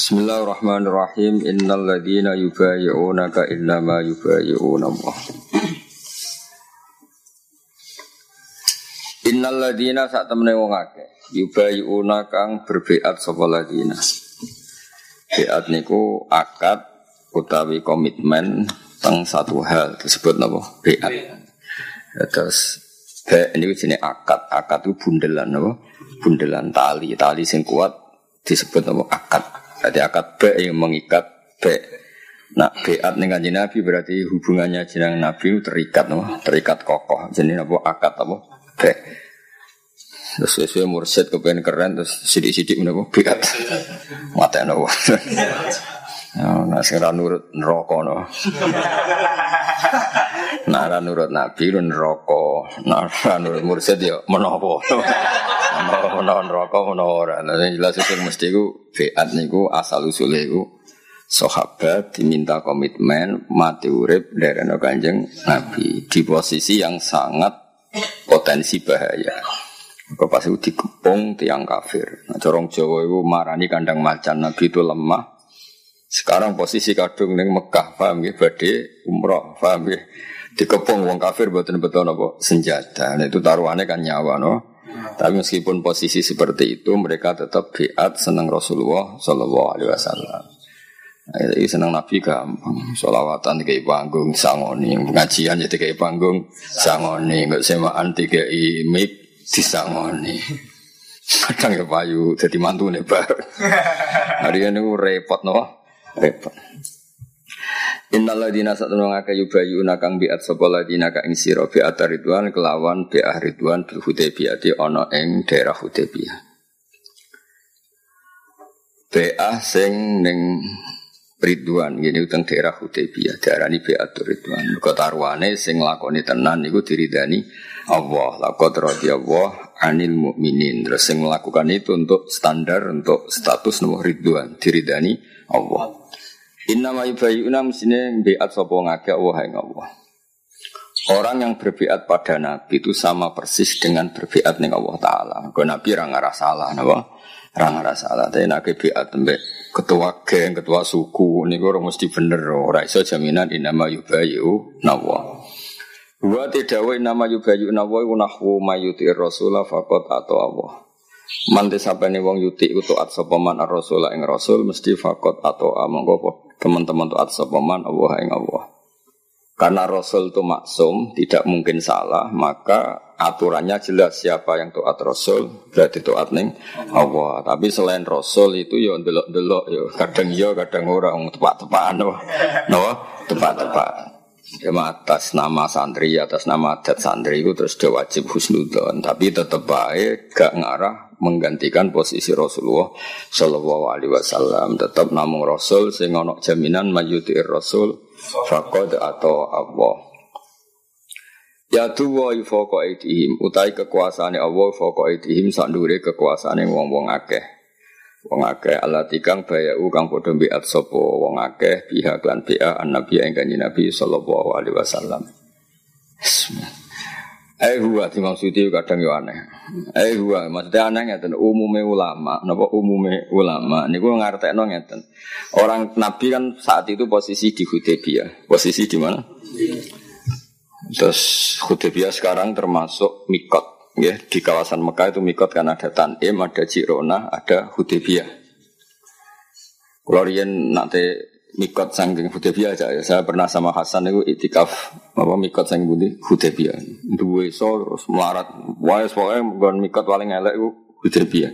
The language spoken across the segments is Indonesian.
Bismillahirrahmanirrahim. Innal ladzina yubayyi'unaka innama yubayyi'una Allah. Innal ladzina sak temene wong akeh yubayyi'una kang berbeat sapa ladzina. Beat niku akad utawi komitmen teng satu hal disebut napa? Beat. Terus niku jenenge akad. Akad itu bundelan napa? Bundelan tali sing kuat disebut napa? Akad. Jadi akad yang mengikat Nah beat ning Kanjeng Nabi berarti hubungannya jeneng Nabi terikat terikat kokoh. Jadi apa akad apa? Terus sesuai mursyid kepengen keren terus sidik-sidik menapa beat. Mateno. Nah sing ra nurut neraka no. Nah ra nurut Nabi neraka. Nah ra nurut mursyid ya menapa. Menawa neraka menawa ora. Lah jelas itu mesti iku beat niku asal usule iku sahabat diminta komitmen mati urip nderekno Kanjeng Nabi di posisi yang sangat potensi bahaya. Kok pas itu dikepung tiang kafir. Nah, corong Jawa itu marani kandang macan Nabi itu lemah. Sekarang posisi kadung ning Mekah, paham nggih, badhe umrah, paham nggih. Dikepung wong kafir mboten betul apa senjata. Nah, itu taruhannya kan nyawa no. Tapi meskipun posisi seperti itu mereka tetap beat senang Rasulullah sallallahu alaihi wasallam. Nah, ini senang Nabi gampang. Sholawatan dikai panggung sangoni, pengajian jadi dikai panggung sangoni, enggak semaan dikai mic disangoni. Kadang ya payu jadi mantune bar. Hari ini repot no, repot. Innal ladzina satunga kayubayuna kang biat sapa ladzina ka ing sira biat ridwan kelawan bi'ah ridwan bil Hudaybiyah ana ing daerah Hudaybiyah. Bi'ah sing ning Ridwan ngene utang daerah Hudaybiyah diarani biat ridwan. Kok taruhane sing lakoni tenan niku diridani Allah. Laqad radhiyallahu 'anil mu'minin. Terus sing melakukan itu untuk standar untuk status nomor ridwan diridani Allah. Innama yubayyi'una mestine biat sapa ngake Allah ing Allah. Orang yang berbiat pada Nabi itu sama persis dengan berbiat ning Allah Ta'ala. Kau Nabi ra ngarah salah napa? Ra ngarah salah. Tapi nek biat mbek ketua geng, ketua suku niku ora mesti bener. Ora iso jaminan innama yubayyi'una Allah. Wa tidawa innama yubayyi'una Allah nahwu mayuti Rasulullah faqat atau Allah. Mante sapane wong yuti taat sapa man ar-rasul ing rasul mesti faqat atau monggo teman-teman taat sapa man Allah ing Allah. Karena rasul itu maksum, tidak mungkin salah, maka aturannya jelas siapa yang taat rasul berarti taat ning Allah. Tapi selain rasul itu ya ndelok-ndelok ya kadang ora tepak-tepakan no, tepak-tepakan. Ya atas nama santri, atas nama adat santri itu terus dia wajib husnudzon, tapi tetap baik gak ngarah menggantikan posisi Rasulullah sallallahu alaihi wasallam. Tetap namung Rasul sing ana jaminan mayyutir Rasul faqad atau Allah. Ya tuwa fawqa aidihim utai kekuasaane Allah fawqa aidihim sandure kekuasaane wong-wong akeh. Wong akeh alati kang bayau kang padha biat sapa wong akeh pihak lan bi'a annabi ing Kanjeng Nabi sallallahu alaihi wasallam. Huwa dimaksudi kadang yo aneh. Huwa maksudnya aneh ngeten umume ulama, napa umume ulama niku ngartekno ngeten. Orang Nabi kan saat itu posisi di Hudaybiyah. Posisi di mana? Terus Hudaybiyah sekarang termasuk mikot. Ya, di kawasan Mekah itu mikot kan ada Tanim, ada Jirona, ada Hudaybiyah. Kalau riyen nanti mikot saking Hudaybiyah aja ya. Saya pernah sama Hasan itu iktikaf mikot saking Hudaybiyah. Duwe so terus melarat. Wae pokoke nggon mikot paling elek iku Hudaybiyah.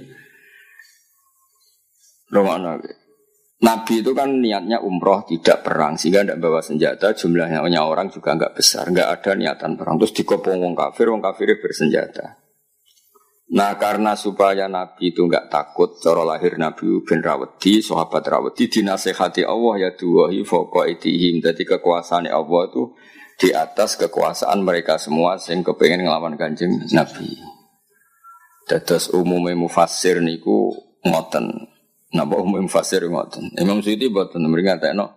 Romana. Nabi itu kan niatnya umroh tidak perang sehingga tidak bawa senjata, jumlahnya orang juga enggak besar, enggak ada niatan perang. Terus dikepung wong kafirnya bersenjata. Nah karena supaya Nabi itu enggak takut, cara lahir Nabi bin Rawedi, sahabat Rawedi dinasihati Allah ya duwahi fawqa aidihim. Jadi kekuasaan Allah itu di atas kekuasaan mereka semua sing kepengin nglawan Kanjeng Nabi. Dados umume mufassir niku ngoten. Napa umum fasir ngoten. Imam Suyuti boten mringatekno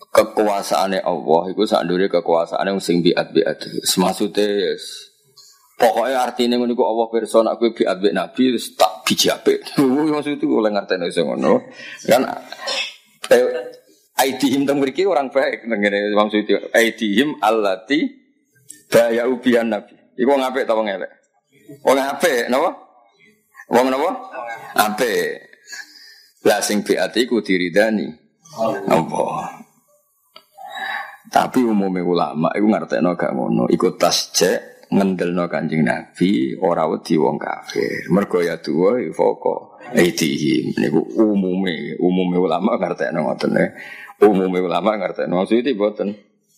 kekuasaane Allah iku sakndure kekuasaane sing biat-biat. Maksude Pokoknya artinya ngono iku Allah pirsa nek kowe biat mbek Nabi wis tak bijape. Maksud itu oleh ngerteni iso ngono. Kan aidihim teng mriki orang baik ngene maksud itu aidihim allati bayau bian Nabi. Iku wong apik ta wong elek? Wong apik napa? Wong napa? Apik. Lah sing biat iku diridani Allah. Tapi umumnya ulama iku ngertekno gak ngono. Iku tasjek ngendelno Kanjeng Nabi ora wedi wong kafir. Mergo ya duwa foko aidihim niku umume ulama ngertekno ngoten e. Umume ulama ngertekno maksud itu mboten.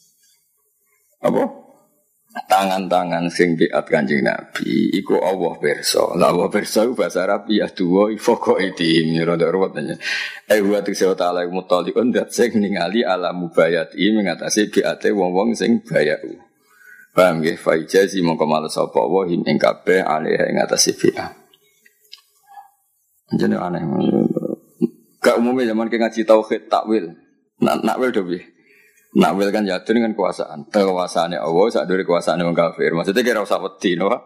Apa? Tangan-tangan sing biat Kanjeng Nabi iku Allah pirsa. Lah Allah pirsa iku bahasa Arab ya duwa foko aidihim rada ruwet. Wa tiksa ta'ala mutaliun dat sing ningali ala mubayati mengatasi biate wong-wong sing bayau. Paham nggih fa ijazi mongko males sapa wa him ing kabeh alih ing atase bi'ah. Jenenge aneh. Gak umumnya zaman ke ngaji tauhid takwil. Nakwil do piye? Nakwil kan jatuh dengan kekuasaan. Kekuasaane Allah sak dure kekuasaane wong kafir. Maksudnya kira usah wedi no.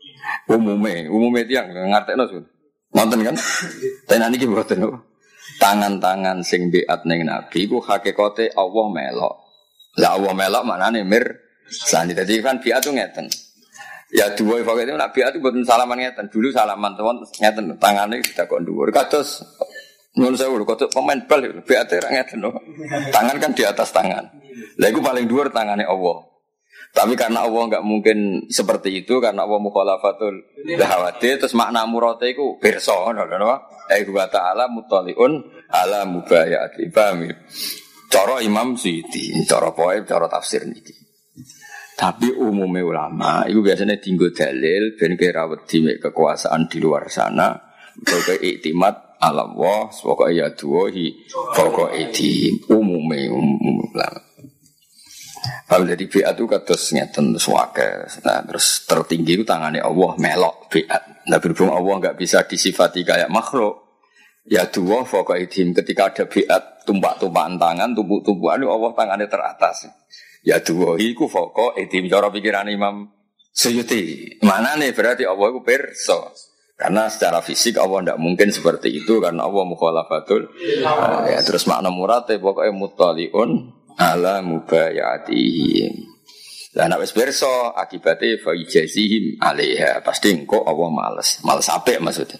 Umume tiyang ngartekno sun. Nonton kan? Tenan iki mboten no. Tangan-tangan sing biat ning Nabi ku hakikate Allah melok. Lah Allah melok maknane sani tadi kan biat tuh ngeten. Ya dua fakir itu nak biat itu bukan salaman ngeten. Dulu salaman teman ngeten tangannya kita kok dhuwur. Kados nyuwun sewu kados pemain bal biat ngeten loh. Tangan kan di atas tangan. Lah iku paling dhuwur tangane Allah. Tapi karena Allah enggak mungkin seperti itu karena Allah mukhalafatul lahawati terus makna murate iku pirsa ngono lho. Wa ta'ala mutaliun ala mubayati. Paham ya? Cara Imam Suyuti, cara poe, cara tafsir niki. Tapi umumnya ulama itu biasanya tinggal dalil ben kira wedi mek kekuasaan di luar sana sebagai iktimat ala Allah sebagai ya duwahi pokok itu umumnya ulama. Kalau dari biat itu kados ngeten suwake. Nah, terus tertinggi itu tangannya Allah melok biat. Nah, berhubung Allah enggak bisa disifati kayak makhluk. Ya duwa pokok itu ketika ada biat tumpak-tumpakan tangan, tumpuk-tumpukan Allah tangannya teratas. Ya dua iku foko etim cara pikiran Imam Suyuti. Mana nih berarti Allah iku pirsa. Karena secara fisik Allah tidak mungkin seperti itu karena Allah mukhalafatul. Ya terus makna murate pokoknya mutaliun ala mubayatihim. Lah nek wis pirsa akibate fa ijazihim alaiha pasti engko Allah males apik maksudnya.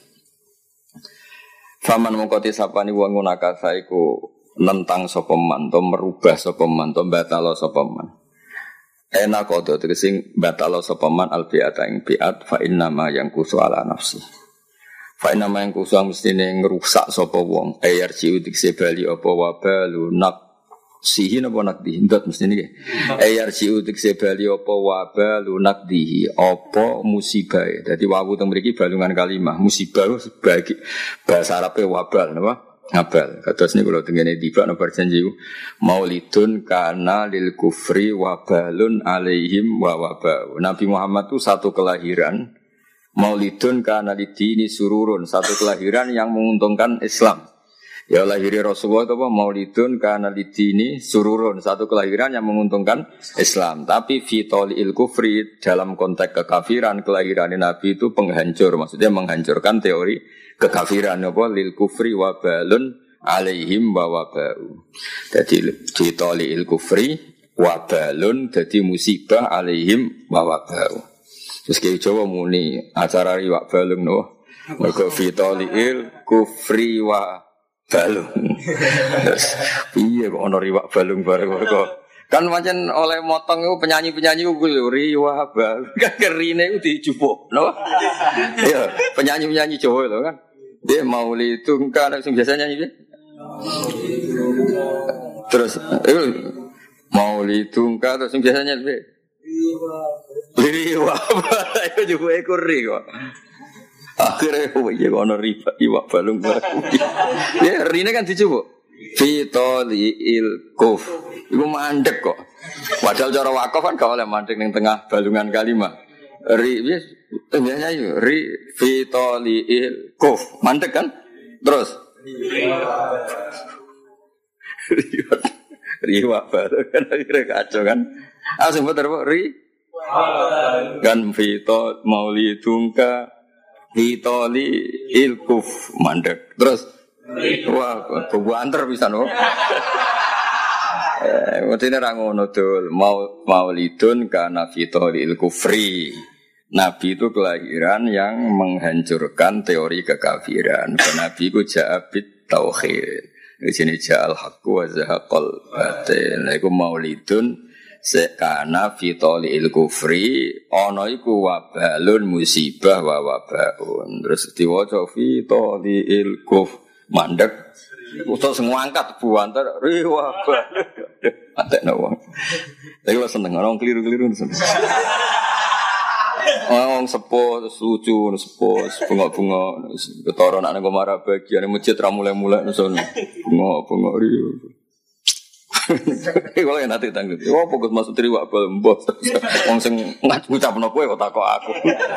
Faman mongko tisapani wong ngunaka saiku nentang sapa man to merubah sapa man to batalo sapa man enak kodo tegese batalo sapa man al bi'ata ing bi'at fa inna ma yang kusu ala nafsi fa inna ma yang kusu mestine ngrusak sapa wong ayarji utikse bali apa wabalu nak sihin apa nak dihindot mestine iki ayarji utikse bali apa wabalu nak dihi apa musibah dadi wawu teng mriki balungan kalimah musibah sebagai bahasa Arabe wabal napa ngabal, kados niku kula tengene tiba nomor janji maulidun kana lil kufri wabalun alaihim wa wabau. Nabi Muhammad itu satu kelahiran, maulidun kana lidini sururun, satu kelahiran yang menguntungkan Islam. Ya lahir Rasulullah itu apa? Maulidun kana lidini sururun, satu kelahiran yang menguntungkan Islam. Tapi fitolil kufri dalam konteks kekafiran kelahiran Nabi itu penghancur, maksudnya menghancurkan teori kekafiran apa lil kufri wabalun alaihim wa wabau. Jadi fitolil kufri wabalun jadi musibah alaihim wa wabau. Terus kayak Jawa muni acara riwak balung no. Mergo fitolil kufri wa balung. Iya kok ono riwak balung bareng kok. Kan pancen oleh motong itu penyanyi-penyanyi ku riwak balung. Kan kerine ku dijupuk, no? Iya, penyanyi-penyanyi Jawa itu kan. Dia maulidun kan sing biasa nyanyi dia. Terus maulidun kan terus sing biasa nyanyi dia. Riwak balung itu juga ekor riwak. Akhirnya iya kono riwak balung bareng. Ya rine kan dijupuk. Fitolil kuf. Iku mandek kok. Padahal cara wakaf kan gak oleh mandek ning tengah balungan kalimah. Biasanya fitolil kuf. Mandek kan? Terus riwak balung kan akhirnya kacau kan. Langsung betul Kan fito maulidungka fitoli ilkuf mandek. Terus wah kebuanter bisa no. Maksudnya rangono dul maulidun karena fitoli ilkufri. Nabi itu kelahiran yang menghancurkan teori kekafiran. Nabi itu ja'abit tauhid. Di sini ja'al haqqu wa zahaqal batil. Nah itu maulidun sekana fitoli il-kufri. Ono iku wabalun musibah wa wabaun. Terus diwaca fitoli il-kuf. Mandek. Utus ngangkat buantar. Wabal. Atek nawang. Tapi lo seneng. Orang keliru-keliru seneng. Wong sepo lucu sepo bunga-bunga ketara nek nang omah bagian masjid ra mulai-mulai sono bunga-bunga riyo. Kalau yang nanti tanggung, wah fokus masuk triwak bal-mbos. Wong sing ngucapno kowe kok takok aku.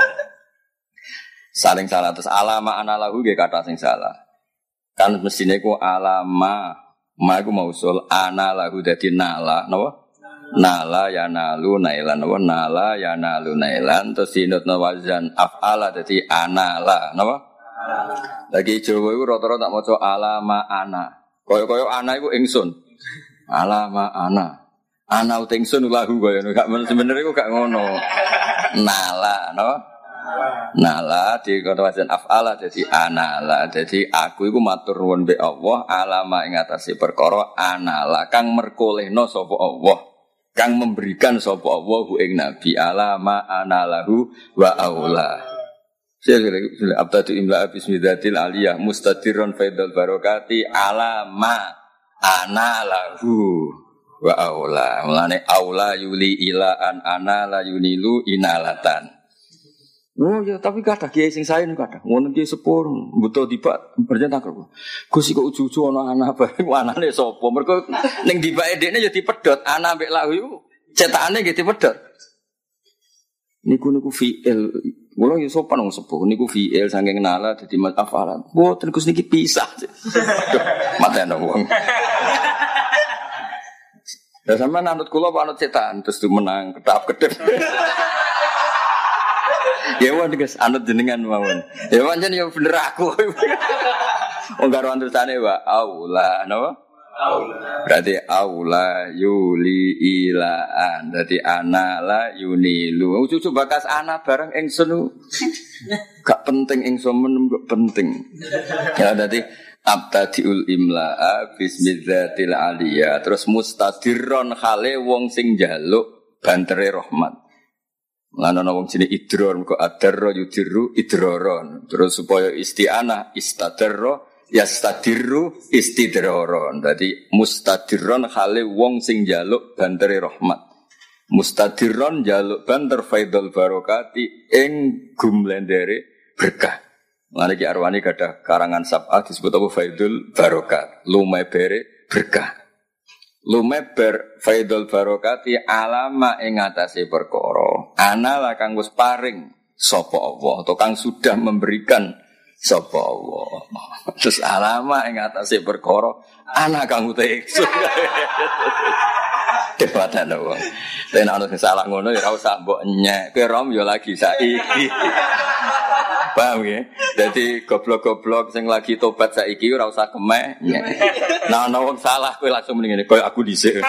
Saling salah terus alama anallahu nggih kata sing salah. Kan mestine ku alama ma iku mausul anallahu dadi nala napa? Nala ya nalu nailan wa nala ya nalu nailan terus sinutna wazan af'ala dadi anala napa lagi Jawa iku rata-rata tak maca alama ana kaya-kaya ana iku ingsun alama ana ingsun lahu kaya gak sebenere iku gak ngono nala napa nala di kata wazan af'ala dadi anala dadi aku iku matur nuwun mbek Allah alama ing atase perkara anala kang merkolehno sapa Allah kang memberikan sapa Allah ing nabi alama anallahu wa aula. Sila abtatu imla bismillatil aliyah mustadirun faidul barakati alama anallahu wa aula. Mulane aula yuli ila an anala yunilu inalatan. Oh ya tapi kathah kiai sing sae kathah. Ngono ki sepur butuh dibak berjentak kok. Gus kok ujug-ujug ana anak bareng anane sapa? Mergo ning dibake dekne ya dipedhot ana mbek lahu iku cetakane nggih dipedhot. Niku fi'il. Mula ya sopan wong sepuh niku fi'il saking nala dadi maf'al. Mboten Gus niki pisah. Matene wong. Ya sampean anut kula apa anut cetakan terus menang ketap-ketep. Ya wae guys, anut jenengan mawon. Ya pancen ya bener aku. Wong karo antusane wa aula, napa? Aula. Berarti aula yuli ilaan. Berarti ana la yunilu. Cucu bakas ana bareng ingsun. Gak penting ingsun menem kok penting. Ya berarti abtadiul imla'a bismillatil aliyah. Terus mustadirron khale wong sing njaluk bantere rahmat. Lan ana wong jenenge idror kok adarra yudirru idroron. Terus supaya isti'anah istadarra yastadirru istidroron. Dadi mustadirron khale wong sing njaluk bantere rahmat. Mustadirron njaluk banter faidul barakati ing gumlendere berkah. Lan iki arwani gadah karangan sab'ah disebut apa faidul barakat. Lumebere berkah. Lumeber faidul barokati alama ing atase perkara ana la kang wis paring sapa Allah atau kang sudah memberikan sapa Allah terus alama ing atase perkara ana kang utek debatan wong ten ana sing salah ngono ya ora usah mbok nyek kowe rom ya lagi saiki paham ya? Jadi goblok-goblok sing lagi tobat saiki ora usah kemeh. Nah ana wong salah kowe langsung mending ngene koyo aku dhisik.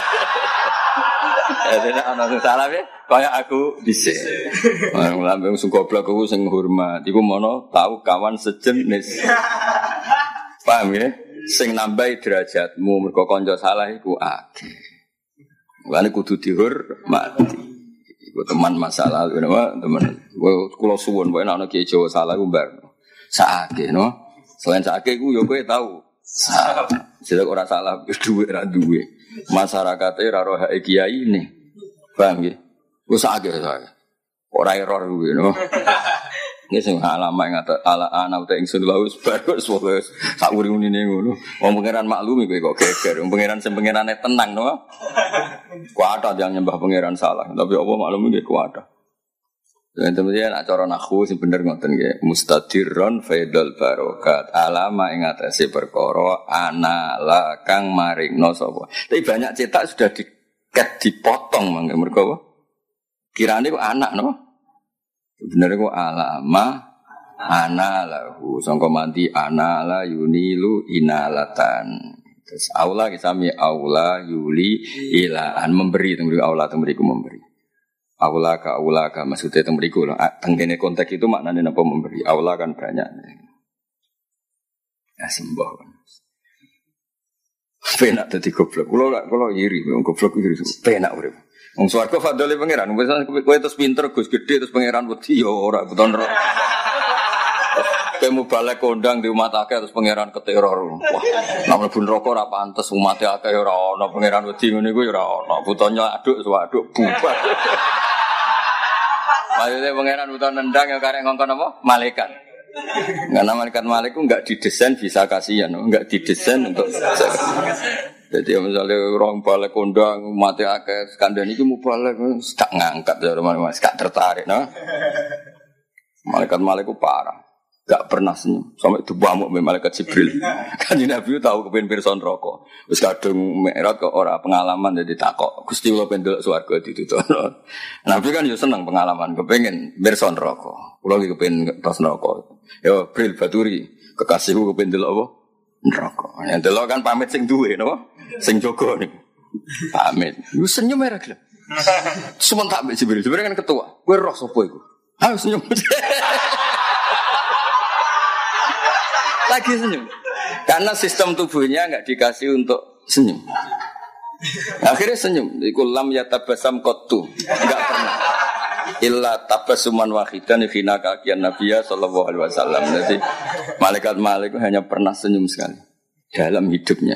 Jadi ana sing salah ya koyo aku dhisik. Lambe sing goblok ku sing hormat iku mono tau kawan sejenis. Paham ya? Sing nambahi derajatmu mergo kanca salah iku akeh. Mulane kudu dihormati. Iku teman masalah teman. Kula suwun pokoke ana kiai Jawa salah ku mbar. Sakake no. Selain sakake ku yo kowe tau. Salah ora salah dhuwit ra duwe. Masyarakate ra roh hak kiai ini. Paham nggih? Ku sakake saya. Ora error kuwi no. Nggih sing alama ngata ala ana uta ingsun laus bagus wis sak uri-urine ngono. Wong pangeran maklumi kowe kok geger. Wong pangeran sing pangerane tenang no. Kuwata yang nyembah pangeran salah, tapi Allah maklumi nggih kuwata. Dan kemudian acara nahwu sing bener ngoten nggih, mustadirron faidul barokat alama ing atase perkara ana la kang maringno sapa. Tapi banyak cetak sudah dipotong mangke mergo apa? Kirane kok anak no. Sebenarnya kok alama ana lahu sangka mandi ana la yunilu inalatan. Terus aula kisami aula yuli ilaan memberi teng aula teng mriku memberi. Aula ka maksudnya teng mriku lho. Teng kene konteks itu maknane napa memberi. Aula kan banyak. Ya sembah. Penak dadi goblok. Kula iri wong goblok iri. Penak urip. Wong swarga fadhole pangeran. Wis kowe terus pinter Gus gede terus pangeran wedi ya ora beton ora. Kamu balik kondang di umat akeh terus pangeran keteror. Wah, nek mlebu neraka ora pantes umat akeh ora ana pangeran wedi ngene iku ya ora ana. Butonyo aduk suwaduk bubar. Maksudnya pangeran buton nendang ya karek ngongkon apa? Malaikat. Karena malaikat itu enggak didesain bisa kasihan, enggak didesain untuk jadi misalnya orang balik kondang mati akeh skandal itu mau balik tak ngangkat dari mana tak tertarik, nah malaikat itu parah, enggak pernah senyum sampai dibamuk oleh malaikat Jibril. Kan Nabi tahu kepen pirsa neraka, wis kadung Mi'raj kok ora pengalaman jadi takok Gusti kula pendelok swarga dituturno. Nabi kan yo seneng pengalaman, kepengin pirsa neraka. Kula iki kepengin tos neraka. Yo Bril Baturi, kekasihku kepen delok apa? Neraka. Yen delok kan pamit sing duwe napa? Sing jaga niku. Pamit. Lu senyum ora gelem. Sementak mbek Jibril. Jibril kan ketua. Kowe roh sapa iku? Ha senyum. Lagi senyum. Karena sistem tubuhnya enggak dikasih untuk senyum. Akhirnya senyum. Iku lam yatabasam qattu. Enggak pernah. Illa tabasuman wahidan khina kakian Nabiya sallallahu alaihi wasallam. Jadi malaikat hanya pernah senyum sekali dalam hidupnya.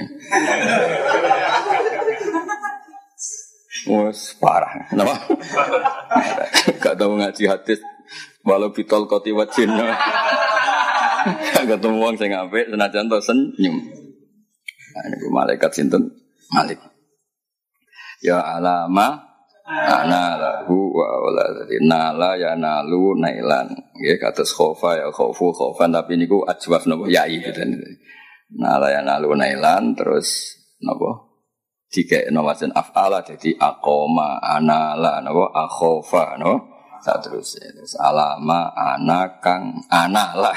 Wes parah. Kenapa? Gak tahu ngaji hadis walau bitol koti wajin. Gak ketemu wong sing apik senajan to senyum. Nah, ini malaikat sinten? Malik. Ya alama ana lahu wa waladzati nala ya nalu nailan nggih kados khofa ya khofu khofan tapi niku ajwaf napa yai gitu. Nala ya nalu nailan terus napa dikekno wajan af'ala dadi aqoma anala napa akhofa no terus alama ana kang analah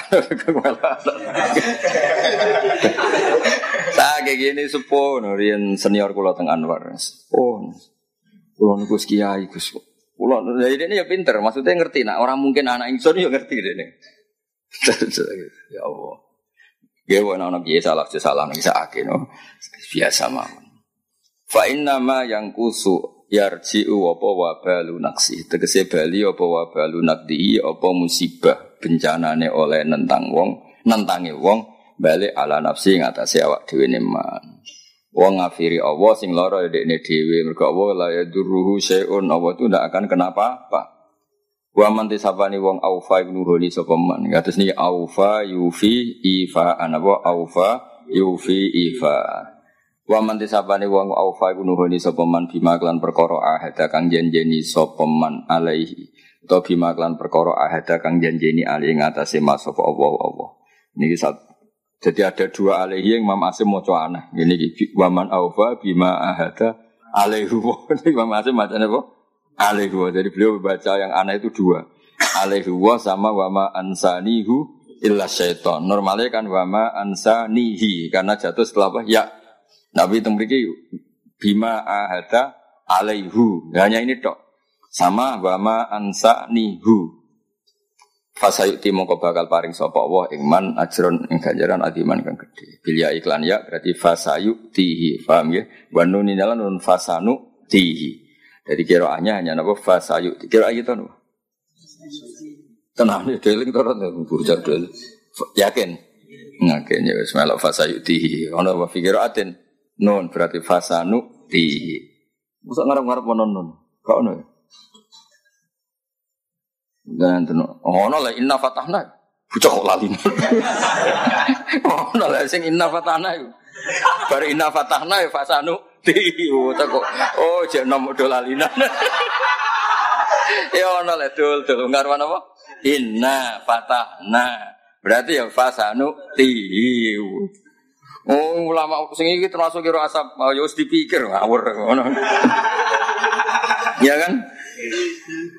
tak kayak gini sepuh riyen senior kula teng Anwar sepuh. Kulo niku kiai Gus. Kulo ini ya pinter, maksudnya ngerti nak orang mungkin anak ingsun ya ngerti dene. Ya Allah. Nggih ana kiai salah nek sakake no. Biasa mawon. Fa inna ma yang kusu yarji'u apa wa balu naksi. Tegese bali apa wa balu nakdi apa musibah bencanane oleh nentangi wong balik ala nafsi ngatasi awak dhewe neman. Wong ngafiri Allah sing lara dekne dhewe mergo Allah la yadurruhu syai'un Allah itu ndak akan kenapa-apa. Wa man tisabani wong aufa ibnuhuli sapa man. Kados niki aufa yufi ifa anapa aufa yufi ifa. Wa man tisabani wong aufa ibnuhuli sapa man bima klan perkara ahada kang janjeni sapa man alaihi. Utawa bima klan perkara ahada kang janjeni ali ing atase mas sapa Allah. Niki jadi ada dua alaihi yang Imam Asim maca aneh. Ini waman aufa bima ahada alaihu. Imam Asim macam apa? Alaihu. Jadi beliau membaca yang aneh itu dua. Alaihu sama wama ansanihu illa syaiton. Normalnya kan wama ansanihi karena jatuh setelah apa? Ya. Nabi tembriki bima ahada alaihu. Hanya ini tok. Sama wama ansanihu. Fasayuti mongko bakal paring sapa Allah ing man ajron ing ganjaran adiman kang gedhe. Bilya iklan ya berarti fasayutihi. Paham ya? Wa nun inalan nun fasanu tihi. Jadi qiraahnya hanya napa fasayuti. Qiraah itu napa? Tenang ya deling to ora bujak dul. Yakin? Yakin ya wis melok fasayutihi. Ono wa fikiraatin nun berarti fasanu tihi. Mosok ngarep-ngarep nun. Kok ono ya? Dan ono lah inna fatahna bocah kok lali. Ono lah sing inna fatahna iku. Bar inna fatahna ya fasanu ti kok oh jek nom do lalinan. Ya ono lah dul ngarep apa? Inna fatahna. Berarti ya fasanu ti. Oh ulama sing iki termasuk kira asap ya wis dipikir ngawur ngono. Ya kan?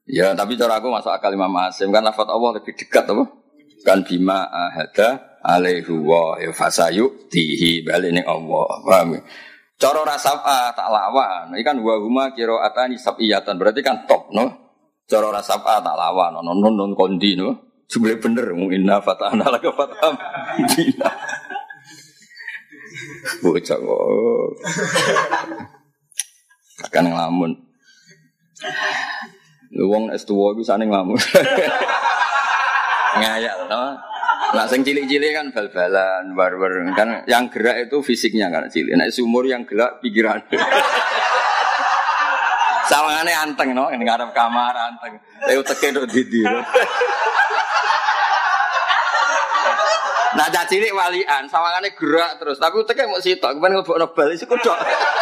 Ya, tapi cara aku masuk akal Imam Asim kan lafaz Allah lebih dekat apa? Kan bima ahada alaihi wa fasayu tihi balik ning Allah. Paham? Cara rasafa tak lawan. Iki kan wa huma qiraatani sab'iyatan berarti kan top no. Cara rasafa tak lawan non kondi no. Sebenarnya bener inna fatahna laka fataham. Bocah kok. Akan ngelamun. Wong S2 iku sane nglamun. Ngayal to. Lah sing cilik-cilik kan bal-balan, war-war kan yang gerak itu fisiknya kan cilik. Nek sumur yang gerak pikiran. Sawangane anteng no, ning ngarep kamar anteng. Lha teke tok didi. Nah cilik walian, sawangane gerak terus, tapi teke mok sitok, kepen nglebokno bal iku tok.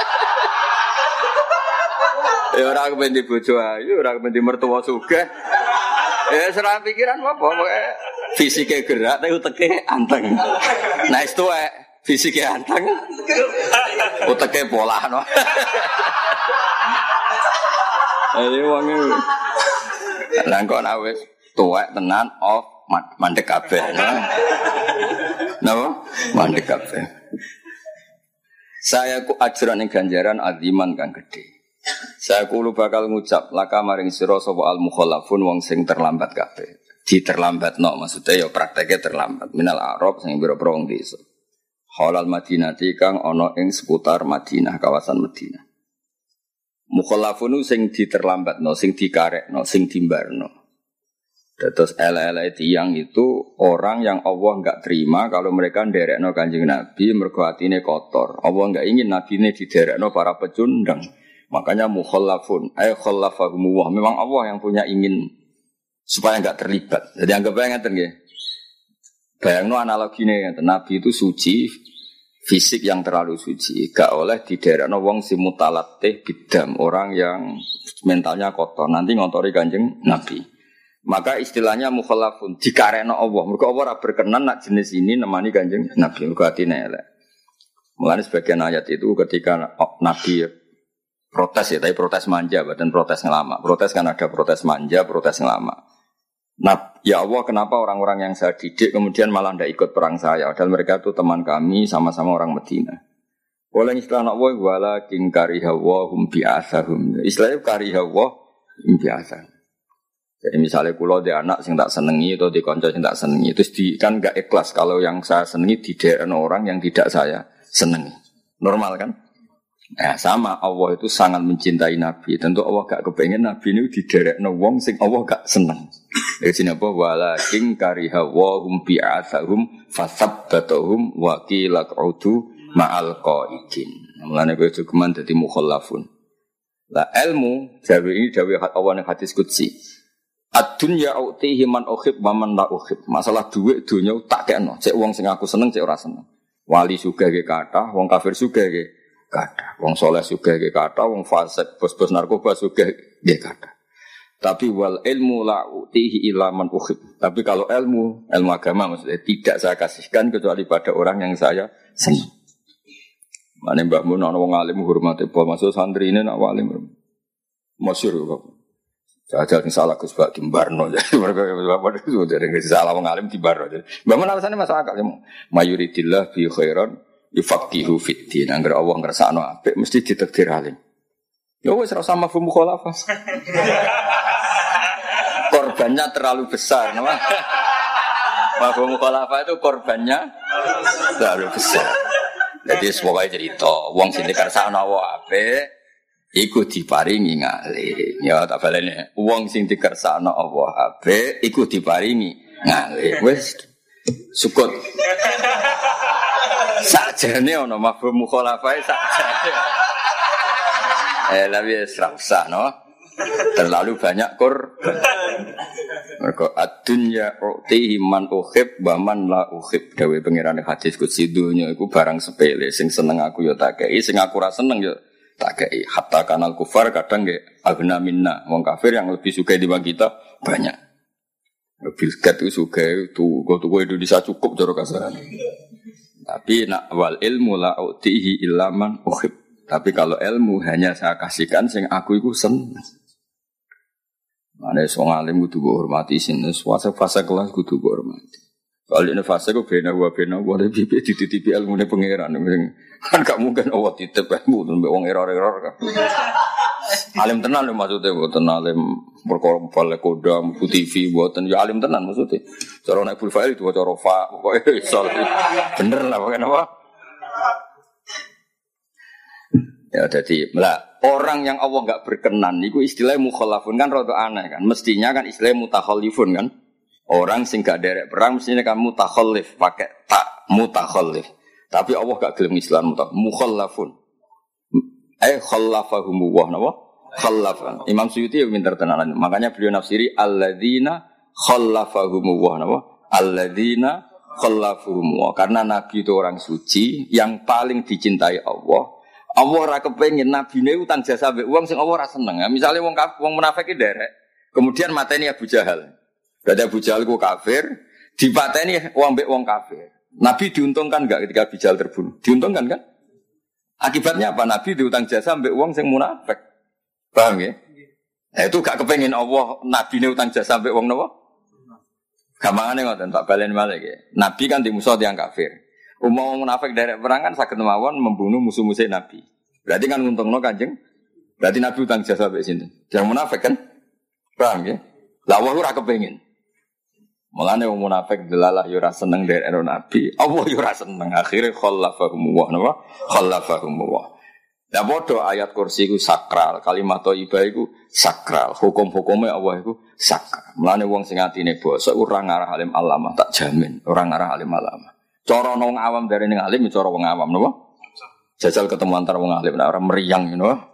Ya ora kepen di bojo ayu, ora kepen di mertua sugih. Ya serah pikiran apa pokoke fisike gerak tapi uteke anteng. Nah itu fisike anteng. Uteke pola no. Ayo wong iki. Lah kok nek wis tuwek tenan off mandek kabeh. Napa? Mandek kabeh. Saya ku ajran ing ganjaran aziman kang gedhe. Saya kulo bakal ngucap laka maring sira sapa al mukhallafun wong sing terlambat kabeh. Diterlambatno maksudnya ya prakteknya terlambat. Minal Arab sing pira-pira wong desa. Halal Madinati kang ana ing seputar Madinah, kawasan Madinah. Mukhallafun sing diterlambatno, sing dikarekno, sing dimbarno. Terus ele-ele tiyang itu orang yang Allah enggak terima kalau mereka nderekno Kanjeng Nabi mergo atine kotor. Allah enggak ingin nabine diderekno para pecundang. Makanya mukhallafun, khallafahumullah. Memang Allah yang punya ingin supaya enggak terlibat. Jadi anggap aja ngeten nggih. Bayangno analogine ngeten, Nabi itu suci, fisik yang terlalu suci, gak oleh diderekno wong sing mutalatih bidam, orang yang mentalnya kotor, nanti ngotori Kanjeng Nabi. Maka istilahnya mukhallafun, dikarekno Allah. Mergo Allah ora berkenan nak jenis ini nemani Kanjeng Nabi, mergo atine elek. Mulane sebagian ayat itu ketika Nabi protes ya, tapi protes manja, bukan protes ngelama. Protes kan ada protes manja, protes ngelama. Nah, ya Allah, kenapa orang-orang yang saya didik kemudian malah tidak ikut perang saya? Padahal mereka itu teman kami, sama-sama orang Medina. Oleh istilah Allah, wala king karihawahum bi'asahum. Istilahnya karihawahum bi'asahum. Jadi misalnya kalau dia anak yang tak senengi atau di konco yang tak senengi, terus kan gak ikhlas kalau yang saya senengi tidak orang yang tidak saya senengi. Normal kan? Nah, sama Allah itu sangat mencintai Nabi. Tentu Allah gak kepengen Nabi ini diderekno wong sing Allah gak seneng. Dari sini apa? Walakin kariha wahum bi'athahum fasabbatahum wa qila q'udu ma'al qa'idin. Mulane kowe cukuman dadi mukhallafun. Lah ilmu jawi ini jawi Allah ning hadis qudsi. Ad-dunya u'tihi man uhib wa man la uhib. Masalah duit dunya tak kekno. Cek wong sing aku seneng, cek ora seneng. Wali sugih ge kathah, wong kafir sugih ge kathah. Wong saleh sugih ge kathah, wong fasik bos-bos narkoba sugih ge kathah. Tapi wal ilmu la utihi illa man uhib. Tapi kalau ilmu agama maksudnya tidak saya kasihkan kecuali pada orang yang saya senang. Mane Mbah Mun ana wong alim hormate apa maksud santri ini nak alim. Masyhur kok. Jajal sing salah Gus Bak dimbarno. Bapak itu dari salah wong alim dimbarno. Mbah Mun alasane masuk akal. Mayuridillah bi khairan yufaqihu fid din. Angger Allah ngersakno apik mesti ditakdir alim. Ya wis ora sama mafhum mukhalafah. Korbannya terlalu besar, nama. Mafhum mukhalafah itu korbannya terlalu besar. Jadi semoga cerita, wong sing dikersakno apik iku diparingi ngalim. Ya tak baleni. Wong sing dikersakno Allah apik iku diparingi ngalim. Wis sukut. Sakjane ana mafhum mukhalafah sakjane. Tapi serasa, no? Terlalu banyak korban. Mereka ad-dunya u'tihi man uhib wa man la uhib. Dawe pengiran hadis qudsi dunya iku barang sepele. Sing seneng aku ya tak kei, sing aku ra seneng ya tak kei. Hatta kanal kufar kadang nggih agna minna. Wong kafir yang lebih suka dibanding kita banyak. Bill Gates itu suka itu tuku Indonesia cukup cara kasaran. Tapi nak wal ilmu la u'tihi illa man uhib. Tapi kalau ilmu hanya saya kasihkan sing aku itu senang. Ane wong alim kudu mbok hormati sin fase kelas kudu mbok hormati. Kalau ini fase ku bena lebih dititipi ilmune pangeran. Kan gak mungkin Allah titip ilmu mbek wong error-error kan. Alim tenan lho maksudnya mboten alim perkara balik kodam ku TV mboten ya alim tenan maksudnya. Cara nek full file itu cara fa pokoke iso. Bener lah pokoke apa? Ya jadi orang yang Allah enggak berkenan itu istilahnya mukhalafun kan rada aneh kan. Mestinya kan istilahnya mutakhallifun kan. Orang sing gak derek perang mestinya kan mutakhallif pakai tak mutakhallif. Tapi Allah gak gelem Islam mukhallafun. Khallafahumullah napa? Khallafan. Imam Suyuti yang pinter tenanan. Makanya beliau nafsiri alladzina khallafahumullah napa? Alladzina khallafahumullah. Karena nabi itu orang suci yang paling dicintai Allah. Allah ora kepengin nabine utang jasa mbek wong sing Allah ora seneng. Misale wong munafik iki derek, kemudian mateni Abu Jahal. Berarti Abu Jahal ku kafir, dipateni wong mbek wong kafir. Nabi diuntungkan enggak ketika Abu Jahal terbunuh? Diuntungkan kan? Akibatnya apa? Nabi diutang jasa mbek wong sing munafik. Paham ya? Nah, itu gak kepengin Allah nabi ne utang jasa mbek wong napa? Gampangane ngoten tak balen malih ya. Nabi kan di musuh tiyang kafir. Umum munafik derek perang kan saged mawon membunuh musuh-musuh Nabi. Berarti kan nguntungno Kanjeng. Berarti Nabi utang jasa mbek sinten? Yang munafik kan? Paham ya? Lah Allah ora kepengin. Mulane wong munafik delalah yo ora seneng derek Nabi, Allah yo ora seneng. Akhire khallafahumullah napa? Khallafahumullah. Lah padha ayat kursi iku sakral, kalimat thayyibah iku sakral, hukum-hukume Allah iku sakral. Mulane wong sing atine basa ora ngarah alim alamah tak jamin, ora ngarah alim alamah. Cara wong awam dari ning alim cara wong awam napa? Jajal ketemu antar wong alim ora meriang napa?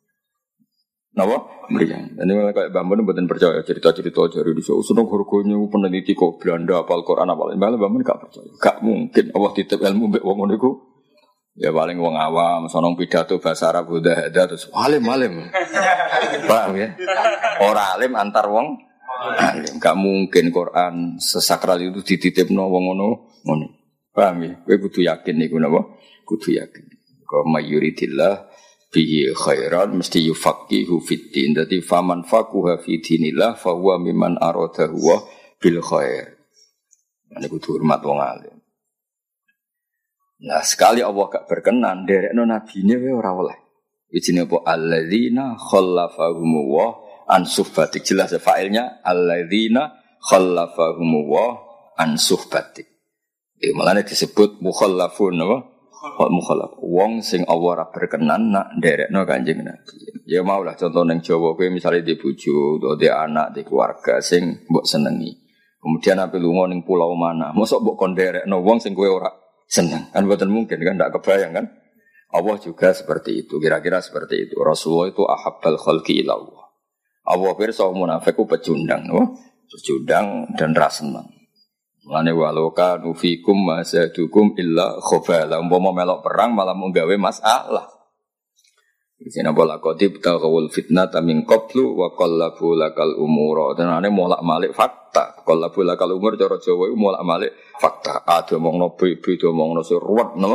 Napa? Meriang. Ini kayak Mbah Mun mboten percaya cerita-cerita dari di seneng harganya peneliti kok Belanda apal Quran apal. Mbah Mun gak percaya. Gak mungkin Allah titip ilmu mbek wong ngono iku. Ya paling wong awam, sonong pidato bahasa Arab udah ada terus alim. Paham ya? Ora alim antar wong alim. Gak mungkin Quran sesakral itu dititipno wong ngono. Paham ya? Kowe kudu yakin niku napa? Kudu yakin. Kok mayuridillah bihi khairan mesti yufaqihu fiddin. Dadi faman faquha fi dinillah fa huwa mimman aradahu bil khair. Ane kudu hormat wong alim. Nah, sekali Allah gak berkenan derekno nabine wae ora oleh. Ijine apa alladzina khallafahumullah an suhbatik jelas failnya alladzina khallafahumullah an suhbatik. Malane disebut mukhallafun apa? Mukhallaf. Wong sing Allah ora berkenan nak nderekno Kanjeng Nabi. Ya maulah contoh ning Jawa kowe misale di bojo utawa di anak, di keluarga sing mbok senengi. Kemudian ape lunga ning pulau mana, mosok mbok kon nderekno wong sing kowe ora seneng. Kan mboten mungkin kan ndak kebayang kan? Allah juga seperti itu, kira-kira seperti itu. Rasulullah itu ahabbal khalqi ila Allah. Allah pirsa munafik ku pecundang, pecundang dan ra seneng. Lane waloka nufikum masadukum illa khobala. Umpama melok perang malah menggawe masalah. Isine bola qatib taqawul fitnata min qablu wa qallabu lakal umura. Tenane molak-malik fakta. Qallabu lakal umur cara Jawa iku molak-malik fakta. Ade omongno beda omongno ruwet napa?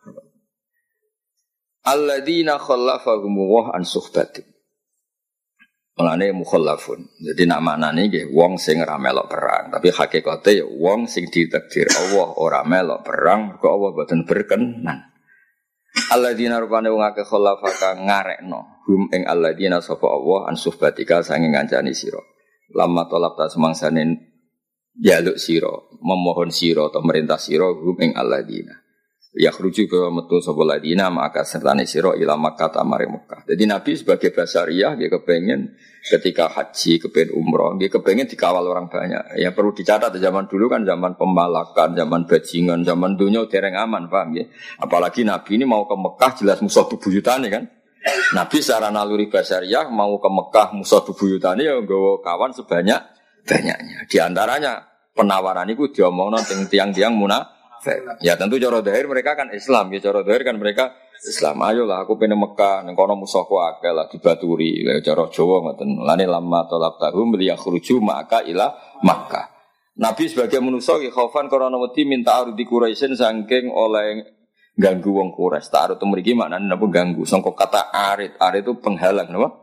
Alladzina khallafahumullah an suhbatin. Mulane mukhallafun. Jadi nak maknane nggih wong sing ora melok perang, tapi hakikate ya wong sing ditakdir Allah ora melok perang, kok Allah boten berkenan. Alladzina rupane wong akeh khallafaka ngarekno hum ing alladzina sapa Allah an suhbatika sange ngancani sira. Lamma talab ta semangsane jaluk sira, memohon sira atau merintah sira hum ing alladzina. Ya khruju ke metu sapa ladina maka sertane sira ila Makkah tamare Mekah. Jadi Nabi sebagai basariah dia kepengen ketika haji kepengen umroh, dia kepengen dikawal orang banyak. Ya perlu dicatat zaman dulu kan zaman pembalakan, zaman bajingan, zaman dunia dereng aman, paham ya. Apalagi Nabi ini mau ke Mekah jelas musuh bebuyutane kan. Nabi secara naluri basariah mau ke Mekah musuh bebuyutane ya nggawa kawan sebanyak-banyaknya. Di antaranya penawaran itu diomongno tiang-tiang munafik. Ya tentu cara zahir mereka kan Islam, ya cara zahir kan mereka Islam. Ayolah aku pengen Mekah, ning kono musuhku akeh lah dibaturi. Cara Jawa ngoten. Lane lamma talab tahum liyakhruju maka ila Makkah. Nabi sebagai manusa ki khaufan karena wedi minta arudi Quraisyin saking oleh ganggu wong Quraisy. Ta'arud mriki maknane napa ganggu. Sangka kata arid, arid itu penghalang napa?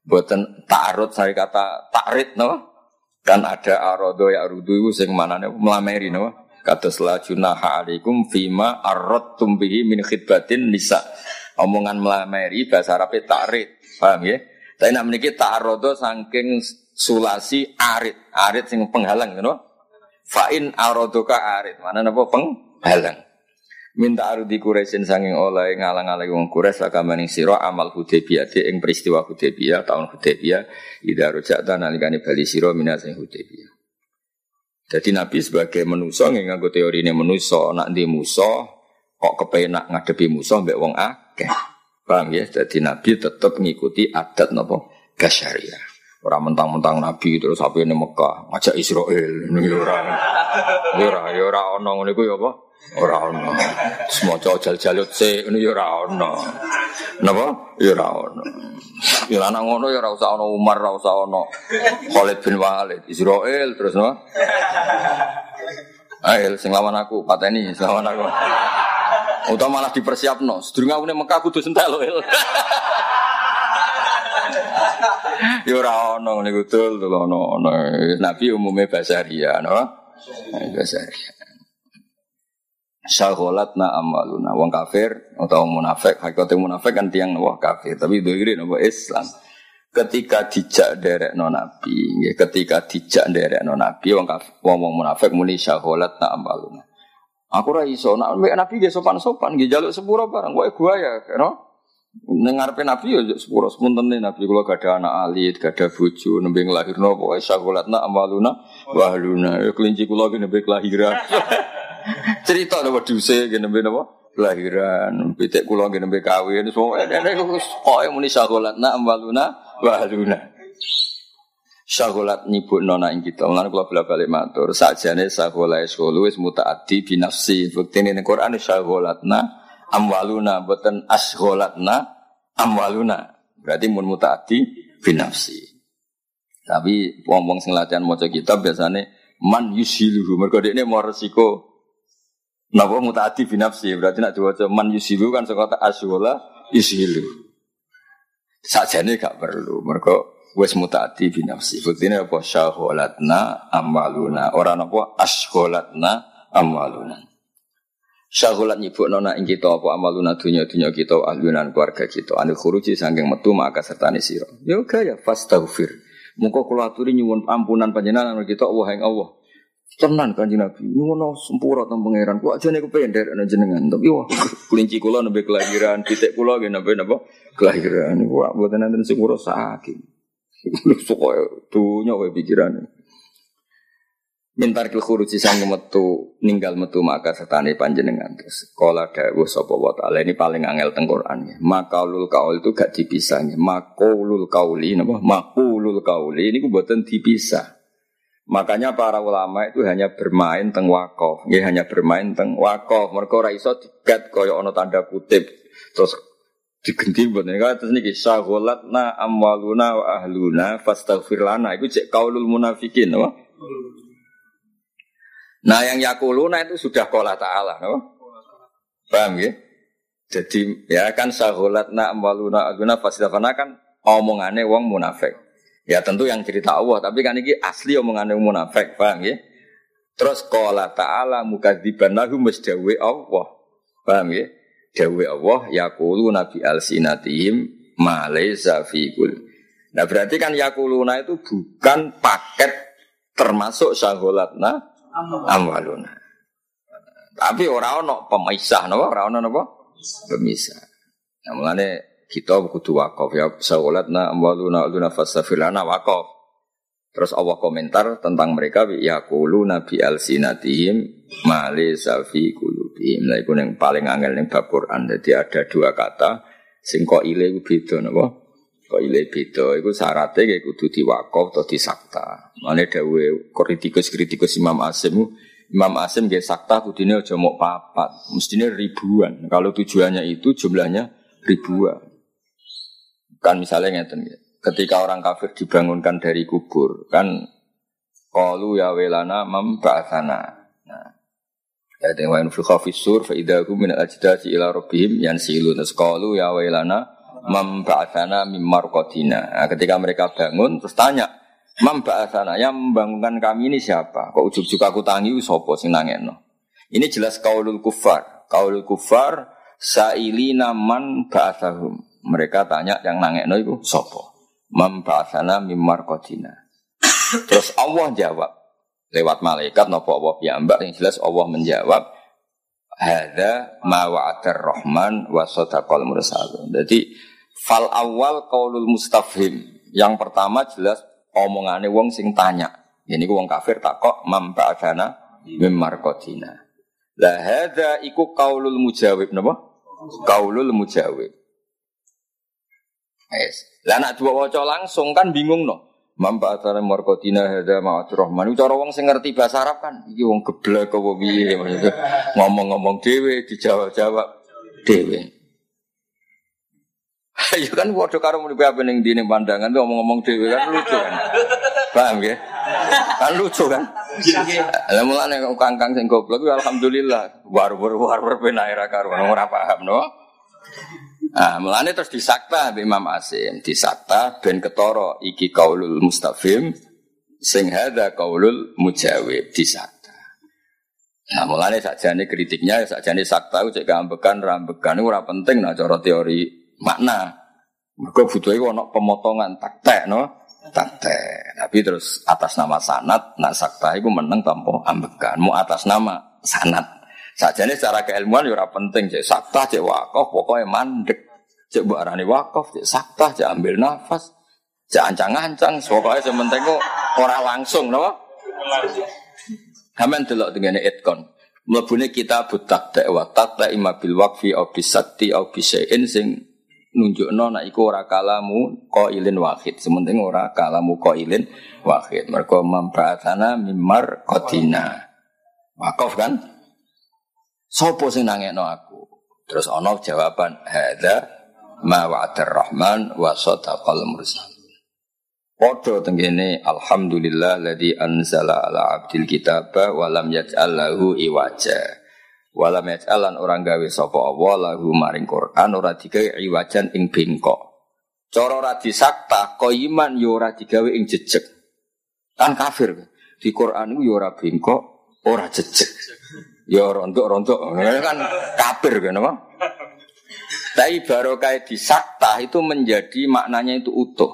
Boten ta'arud saya kata ta'rid no. Kan ada arodo ya arudu iku sing manane mlameri no. Kados la junaha alaikum fima arradtum bihi min khidbatin nisa. Omongan mlameri bahasa Arabe ta'rid. Paham ya? Tapi nek mriki ta'arud saking sulasi arid. Arid sing penghalang no. Fa in aradoka arid. Mana napa penghalang. Minta arudi Quraisyin sanging oleh ngalang-alang wong Quraisy sakamaning sira amal Hudaybiyah ing peristiwa Hudaybiyah tahun Hudaybiyah idza raja'ta nalikane bali sira minasing Hudaybiyah. Jadi Nabi sebagai manusa nganggo teorine manusa nek ndi musa kok kepenak ngadepi musa mbek wong akeh. Paham ya? Jadi Nabi tetap ngikuti adat napa basyariah. Ora mentang-mentang Nabi terus sampai ning Mekah ngajak Israel niku ora ono ngene iku ya apa? Ora ono. Semoco jal-jalut sik ngono ya ora ono. Napa? Ya ora ono. Ya ana ngono ya ora usah ono Umar, ora usah ono Khalid bin Walid, Israel terus no. Ayo sing lawan aku, pateni sing lawan aku. Utawa malah dipersiapno. Sedurunge aku ning Mekah kudu sentek lho. Ya ora ono niku dul ono. Nabi umume basaria, no? Basaria. Syaghalatna amaluna wong kafir atau munafik, hakikate munafik kan tiyang wah kafir, tapi doire napa Islam. Ketika dijak nderekno Nabi, nggih ketika dijak nderekno Nabi wong kafir, wong munafik muni syaghalatna amaluna. Aku ora iso nek Nabi nggih sopan-sopan nggih njaluk sepuro barang kowe guaya, no? Ning ngarepe Nabi yo sepuro sepuntene Nabi kula gadah anak alit, gadah bojo nembe nglahirno pokoke syaghalatna amaluna wa ahluna. Kelinci kula ki nembe kelahiran. Cerita napa duse ngene napa kelahiran pitik kula ngene nembe kawin semua ene kok muni syaghalatna amwaluna wa ahluna syaghalat nyibukno nak ing kita lan kula bali matur sakjane syaghalai sulu wis mutaaddi bi nafsi buktine ning Quran syaghalatna amwaluna boten asghalatna amwaluna berarti mun mutaaddi bi nafsi tapi wong-wong sing latihan maca kitab biasane man yusiluhu mergo dekne mau resiko. Napa mutaati binafsi berarti nak diwaca man yusilu kan saka asyula yusilu. Sakjane gak perlu mergo wis mutaati binafsi. Buktine apa syaghalatna amaluna ora napa asghalatna amaluna. Syaghalat nyibukno nak ing kita apa amaluna dunya-dunya kita ahlunan keluarga kita anu khuruji saking metu maka sertane sira. Yo gaya fastaghfir. Muga kula aturi nyuwun ampunan panjenengan kita Allah ing Allah. Tenan Kanjeng Nabi, nyuwun sempurna teng pangeran. Kok ajane kepen nderekno jenengan. Tapi wah, kelinci kula nembe kelahiran, pitik kula nggih nembe napa kelahiran. Kok mboten enten sing ngurus saking. Sok dunya wae pikirane. Mintar kil khuruji sang metu ninggal metu maka setane panjenengan. Terus kala dawuh sapa wa taala ini paling angel teng Quran ya. Maqaulul qaul itu gak dipisah ya. Maqaulul qauli napa? Maqaulul qauli niku mboten dipisah. Makanya para ulama itu hanya bermain teng waqaf, nggih hanya bermain teng waqaf. Mergo ora iso digat kaya ana tanda kutip. Terus digenti mboten terus niki syaghalatna amwaluna wa ahluna fastaghfir lana iku cek qaulul munafikin apa? Nah yang yakuluna itu sudah qala ta'ala apa? Paham ya? Jadi ya kan syaghalatna amwaluna ahluna fastaghfir lana kan omongane wong munafik. Ya tentu yang cerita Allah, tapi kan ini asli omongan yang munafik, paham ya? Terus qala ta'ala mukadziban lahu masdawe Allah. Paham ya? Dawe Allah yaquluna bi alsinatihim ma laysa fi qul. Nah berarti kan yaquluna itu bukan paket termasuk syaghalatna amwaluna. Tapi ora ono pemisah napa? Ora ono napa? Pemisah. Nah mulane kita kudu wakaf ya syaghalatna amwaluna aluna fasafilana wakaf. Terus Allah komentar tentang mereka yaquluna bi alsinatihim ma laysa fi qulubihim. Lah iku yang paling angel ning bab Quran. Jadi ada dua kata sing kok ile iku beda napa? Kok ile beda iku syaratte kayak kudu diwakaf atau disakta. Mane dawuh kritikus Imam Asim nggih sakta kudune aja mok papat, mestine ribuan. Kalau tujuannya itu jumlahnya ribuan. Kan misalnya ngeten ya. Ketika orang kafir dibangunkan dari kubur, kan qalu ya welana man ba'atsana. Nah, ayat wa in fi khafis sur fa idahum min al-ajdati ila rabbihim yansilun. Qalu ya welana Memba'atsana mim marqadina. Nah, ketika mereka bangun terus tanya, "Memba'atsana, yang membangunkan kami ini siapa? Kok ujug-ujug aku tangi sapa sing nangekno?" Ini jelas qaulul kufar. Qaulul kufar sa'ilina man ba'atsahum. Mereka tanya yang nangekno iku sapa? Memba'atsana mim marqadina. Terus Allah jawab lewat malaikat napa Allah piyambak, yang jelas Allah menjawab, hadza ma wa'adar rahman wa sadaqal mursalun. Jadi fal awal qaulul mustafhim. Yang pertama jelas omongane wong sing tanya. Ini ku wong kafir takok mam ba'dana mim marqadina. La hadza iku qaulul mujawib napa? Qaulul mujawib. Lah nek dua waca langsung kan bingung no. Mampa acara marqadina hadza ma'atur rahman. Cara wong sing ngerti bahasa Arab kan iki wong geblek apa piye maksudnya. Ngomong-ngomong dhewe dijawab-jawab dhewe. Ya kan padha karo muni apa ning dine pandangan tuh ngomong-ngomong dhewe kan lucu kan. Paham ya? Kan lucu kan? Lah mulane kangkang sing goblok alhamdulillah war-war ben ae ra karo ora paham no. Ah, mulane terus disakta Imam Asim, disakta ben ketara iki qaulul mustafhim sing hadza qaulul mujawib disakta. Nah, mulane sakjane kritiknya sakjane sakta cek gambekan rambekan ora penting nah cara teori makna. Mergo butuhe ana pemotongan taktek no, taktek. Tapi terus atas nama sanad nah sakta iku meneng tanpa ambekan, mu atas nama sanad. Sajane secara keilmuan ya ora penting cek sakta cek wakaf pokoke mandek. Cek mbok arani wakaf cek sakta cek ambil nafas cek ancang-ancang pokoke sing penting kok ora langsung napa? Kamen delok tengene itkon. Mlebune kitabut taqta wa taqta imma bil waqfi au bisatti au bisain sing nunjukno nek iku ora kalamu qailin wahid. Sementing ora kalamu qailin wahid. Mergo mambaatana mimar qatina. Wakaf kan? Sopo sing nangekno aku? Terus ana jawaban hadza ma wa'adar rahman wa sadaqal mursalun. Padha tengene alhamdulillah ladzi anzala ala abdil kitaba wa lam yaj'al lahu iwaja. Wa lam yaj'alan orang gawe sapa Allah lahu maring Quran ora digawe iwajan ing bengkok. Cara ora disakta qaiman yo ora digawe ing jejeg. Kan kafir. Di Quran iku yo ora bengkok, ora jejeg. Ya rontok-rontok kan kafir kan apa? Tapi barokah disakta itu menjadi maknanya itu utuh.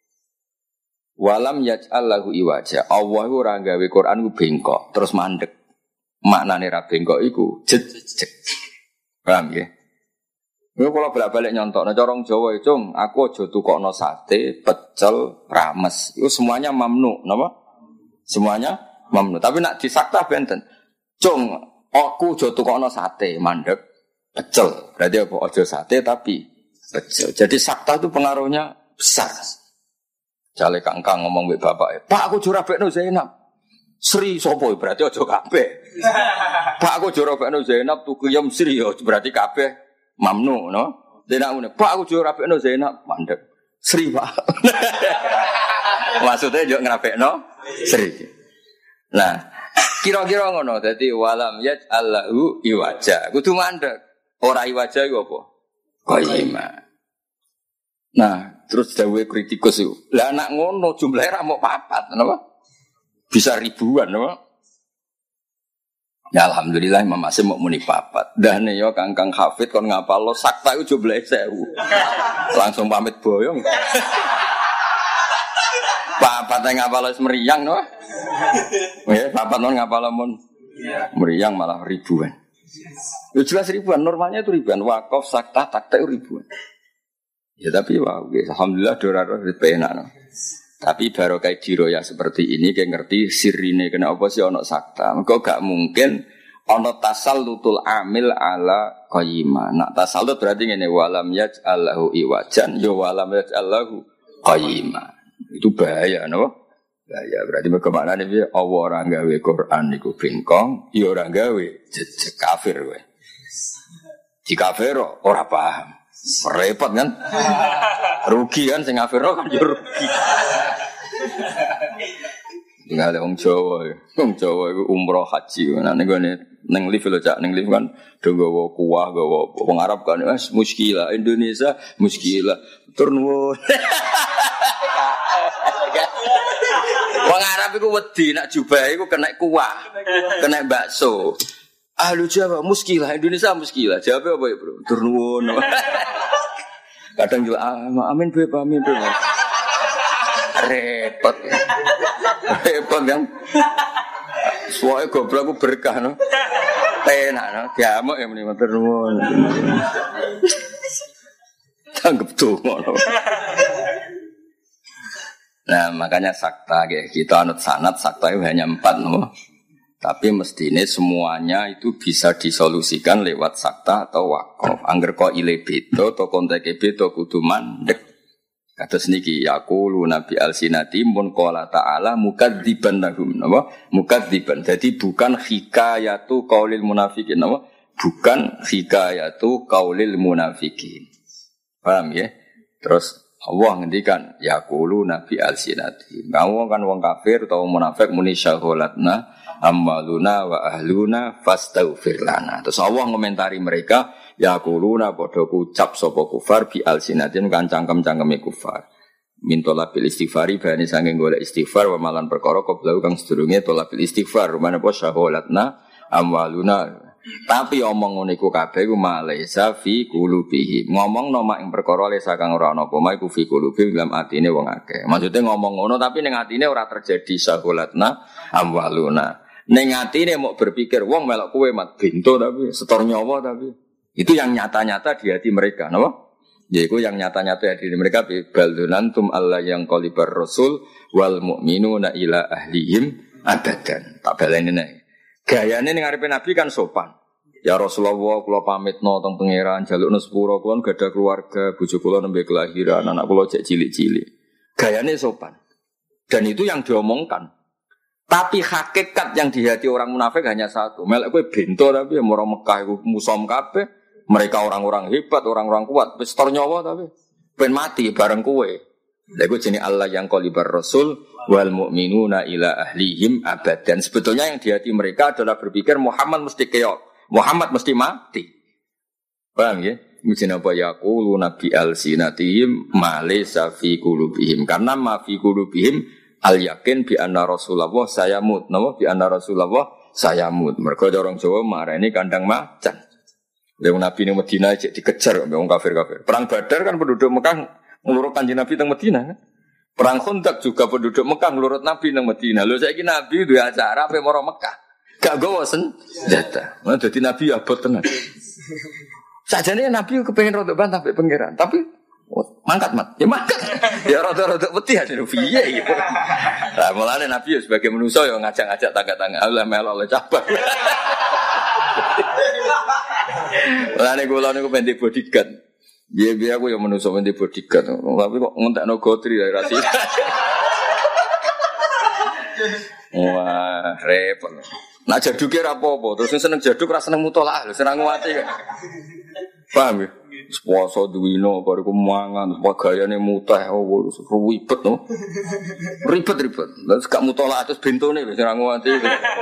Walam yaj'al lahu iwaja. Allah ora gawe Quran ku bengkok terus mandek. Maknane ra bengkok iku jejeg. Paham nggih? Yo kula bolak-balik nyontokno cara Jawa itu, aku aja tukokno sate, pecel, rames. Itu semuanya mamnu, napa? Semuanya mamnu. Tapi nak disakta benten. Cung, aku aja tukokno sate, mandek, pecel. Berarti apa? Aja sate tapi pecel. Jadi sakta itu pengaruhnya besar. Jale kangkang ngomong mbek bapak, "Pak, aku jura bekno Zainab." Sri sapa berarti aja kabeh. Pak, aku jura bekno Zainab tuku yem Sri berarti kabeh mamnu, no? Dene ngene, "Pak, aku jura bekno Zainab." Mandek. Sri, Pak. Maksudnya yo ngrapekno Sri. Nah, kira-kira ngono. Dadi walam yaj'allahu iwaja. Kudu mandek. Ora iwaja iku apa? Qayyima. Nah, terus dawuhe kritikus iku. Lah anak ngono jumlahe ra mok 4, napa? Bisa ribuan, napa? Ya alhamdulillah Imam Asim mau muni 4. Dane yo kangkang hafid kon ngapalo sakta iku jumlahe 1000. Langsung pamit boyong. Papat ngapalo semeriang, no? Ya, papat non ngapalo mun meriang malah ribuan. Ya jelas ribuan, normalnya itu ribuan. Wakaf, sakta, takta itu ribuan. Ya tapi wow, alhamdulillah doraro penak. No. Tapi barokah diroya seperti ini kayak ngerti sirine kena apa sih ono sakta. Engko gak mungkin ono tasallutul amil ala qayyima. Nak tasallut berarti ngene walam yaj'allahu iwajan ya walam yaj'allahu qayyima. Itu bahaya no? Bahaya berarti bagaimana nih Allah orang gawe Quran niku bengkong, ya orang gawe jejeg kafir kowe. Di kafir ora paham. Repot kan? Rugi kan sing kafir kan ya rugi. Tinggal wong Jawa. Wong Jawa iku umroh haji. Nah ning lift lho Cak, ning lift kan do nggawa kuah, nggawa wong Arab kan wis muskilah Indonesia muskilah. Tur nuwun. Wong Arab iku wedi nak jubah iku kena kuah, kena bakso. Ahlu Jawa muskilah Indonesia muskilah. Jawabe apa ya, Bro? Tur nuwun. Kadang juga amin Beb, amin Beb. Repot. Repot kan. Suwe goblok ku berkah no. Enak no, diamuk ya meni matur nuwun. Tanggep donga no. Nah, makanya sakta kita anut sanad sakta itu hanya 4 no. Tapi mestine semuanya itu bisa disolusikan lewat sakta atau wakaf. Angger kok ile beda to konteke beda kudu mandek. Kados niki yaqulu nabi alsinati mun qala ta'ala mukadziban lahum napa mukadziban. Jadi bukan hikayatu qaulil munafiqin napa bukan hikayatu qaulil munafiqin. Paham ya? Terus Allah ngendikan yaqulu nabi alsinati. Ngawong kan wong kafir utawa munafik muni syaholatna ammaluna wa ahluna fastaghfir lana. Terus Allah ngomentari mereka yaquluna padha ucap sapa kufar bi alsinatin kan cangkem-cangkeme kufar. Mintola bil istighfari bani saking golek istighfar wa malan perkara koblau kang sedurunge tola bil istighfar rumane apa syaholatna amwaluna. Tapi omong ngene iku kabeh iku malaisa fi qulubihim. Ngomongno mak ing perkara lesa kang ora ana apa mak iku fi qulubihim dalam atine wong akeh. Maksude ngomong ngono tapi ning atine ora terjadi syaholatna amwaluna. Ning atine mok berpikir wong melok kowe mat bento tapi setor nyawa tapi itu yang nyata-nyata di hati mereka, napa? Yaiku yang nyata-nyata di hati mereka baldunantum alla yang qalibar rasul wal mu'minuna ila ahlihim abadan. Tak baleni nek. Gayane ning ngarepe Nabi kan sopan. Ya Rasulullah kula pamitno teng pangeran jalukno sepura kula gadah keluarga, bojo kula nembe kelahiran, anak kula cek cilik-cilik. Gayane sopan. Dan itu yang diomongkan. Tapi hakikat yang di hati orang munafik hanya satu. Melek kowe bento tapi orang Mekah iku musom kabeh. Mereka orang-orang hebat, orang-orang kuat. Wis tor nyawa tapi ben mati bareng kowe. Lha iku jenenge Allah yang qalibar rasul wal mu'minuna ila ahlihim abadan. Sebetulnya yang di hati mereka adalah berpikir Muhammad mesti keok. Muhammad mesti mati. Paham ya? Mujina apa yaqulu nabi alsinatihim ma laysa fi qulubihim. Karena ma fi qulubihim al yakin bi anna Rasulullah sayamut. Napa bi anna Rasulullah sayamut. Mergo orang Jawa marani kandang macan. Lha Nabi ning Madinah cek dikejar mbek wong kafir-kafir. Perang Badar kan penduduk Mekah nglurut Kanjeng Nabi teng Madinah kan. Perang Khandaq juga penduduk Mekah nglurut Nabi teng Madinah. Lho saiki Nabi duwe acara ape maro Mekah. Gak gowo senjata. Nah dadi Nabi abot tenan. Sajane Nabi kepengin rodok bantah mbek pangeran, tapi mangkat mat. Ya mangkat. Ya rodok-rodok putih aja piye gitu. Lah mulane Nabi sebagai manusa ya ngajak-ngajak tangga-tangga Allah melok cabang. Mulane kula niku ben di bodyguard. Biar aku yang manusa ben di bodyguard. Tapi kok ngentekno gotri ya rasi. Wah, repot. Nak jaduke ra apa-apa, terus seneng jaduk ra seneng mutolaah lho, seneng nguwati kan. Paham ya? Puasa duwino bariku mangan, gayane mutah ribet no. Ribet. Terus gak mutolaah terus bentone wis seneng nguwati.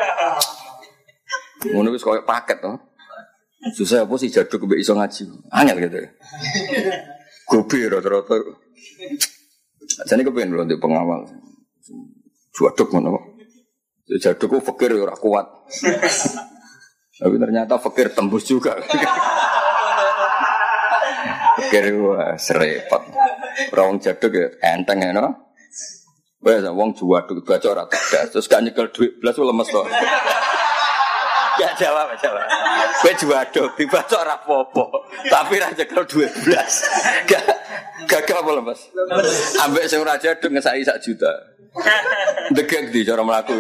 Ngono wis koyo paket to. Susah apa sih jaduk mbek iso ngaji. Angel gitu. Gobe rata-rata. Jane kepen lho ndek pengawal. Jaduk ngono. Jadukku fakir ora kuat. Tapi ternyata fakir tembus juga. Fakir wah serepot. Ora wong jaduk ya enteng ya no. Wes wong jaduk baca ora tegas terus gak nyekel dhuwit blas lemes to. Gak jawab. Kowe jaduk dibaca ora apa-apa, tapi ra nyekel dhuwit blas. Gak apa lemes. Ambek sing ora jaduk ngesaki 1 juta. Degek di cara melaku.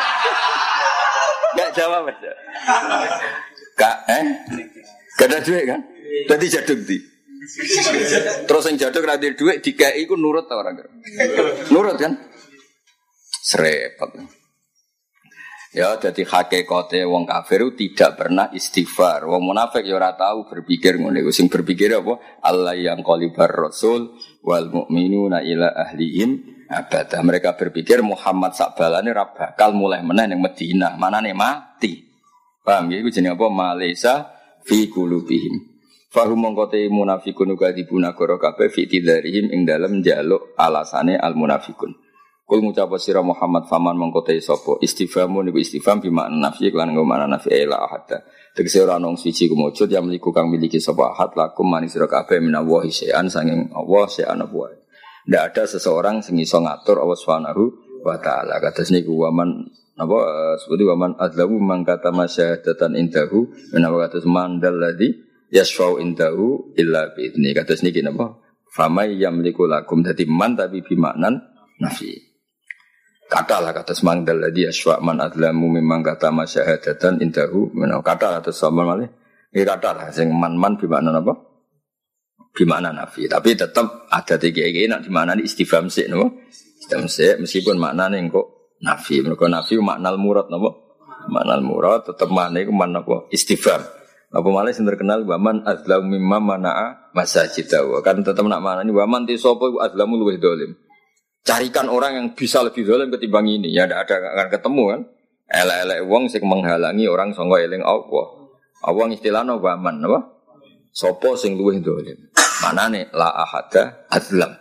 Gak jawab aja. Gak ada duit kan? Tadi jaduk di. Terus yang jaduk ada duit dikai ku nurut tau orang. Nurut kan? Serepot. Ya jadi hakikate wong kafir tidak pernah istighfar. Wong munafik ya ora tahu berpikir ngono iku. Sing berpikir apa? Allah yang qalibar rasul wal mu'minuna ila ahlihim abada. Mereka berpikir Muhammad sakbalane ra bakal mulai meneh ning Madinah, manane mati. Paham ya iku jenenge apa? Malaysa fi qulubihim. Fahum mongkote munafikun kadibuna goro kabeh fi tidarihim ing dalem njaluk alasane al munafikun. Kul ngucap sira Muhammad faman mongkote sapa istifhamun niku istifham bi makna nafi lan nggo makna nafi la ahad. Tegese ora ana siji kumujud yang miliku kang miliki sapa ahad lakum manis sira kabeh minallahi syai'an sanging Allah syai'an apa wae. Ndak ada seseorang sing iso ngatur Allah Subhanahu wa taala. Kados niku waman apa seperti waman adlamu mangkata masyahadatan indahu menawa kados mandal ladzi yasfau indahu illa bi'idni. Kados niki napa? Famay yamliku lakum dadi man tapi bimaknan nafi. Katalah kados mangdal ladzi yasfa man adlamu mimman kata masyahadatan indahu menawa kata atus sama malih. Iki katalah sing man bimaknan apa? Bimaknan nafi. Tapi tetap ada tiga iki nek dimaknani istifham sik napa? Istifham sik meskipun maknane kok nafi. Mergo nafi maknal murad napa? Maknal murad tetap maknane iku man apa? Istifham. Apa malah yang terkenal waman azlamu mimma mana'a masajidahu. Kan tetap nak mana ini waman ti sapa iku azlamu luwih dolim. Carikan orang yang bisa lebih dolim ketimbang ini. Ya tidak ada akan ketemu kan. Elek-elek wong sing menghalangi orang sangka eling Allah. Allah istilahna waman apa? Sapa sing luwih dolim. Manane la ahada azlam.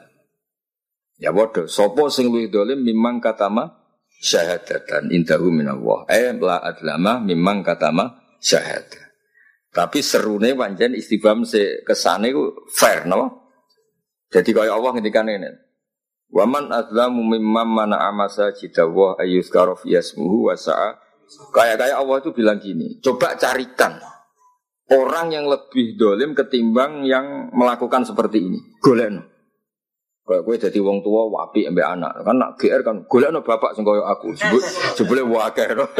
Ya bodoh. Sapa sing luwih dolim mimman katama syahadatan indahu minallah. La adlama mimman katama syahadah. Tapi serune pancen istifham se kesane ku fair no. Jadi kaya Allah ngendikane ngene. Wa man azlamu mimman mana'a masajidahu ayyuzkara fi ismuhu wa sa'a. Kayak Allah itu bilang gini, coba carikan orang yang lebih dolim ketimbang yang melakukan seperti ini. Golekno. Kayak kowe dadi wong tua wapi ambek anak. Kan nak GR kan golekno bapak sing kaya aku. Jebule wakeh no.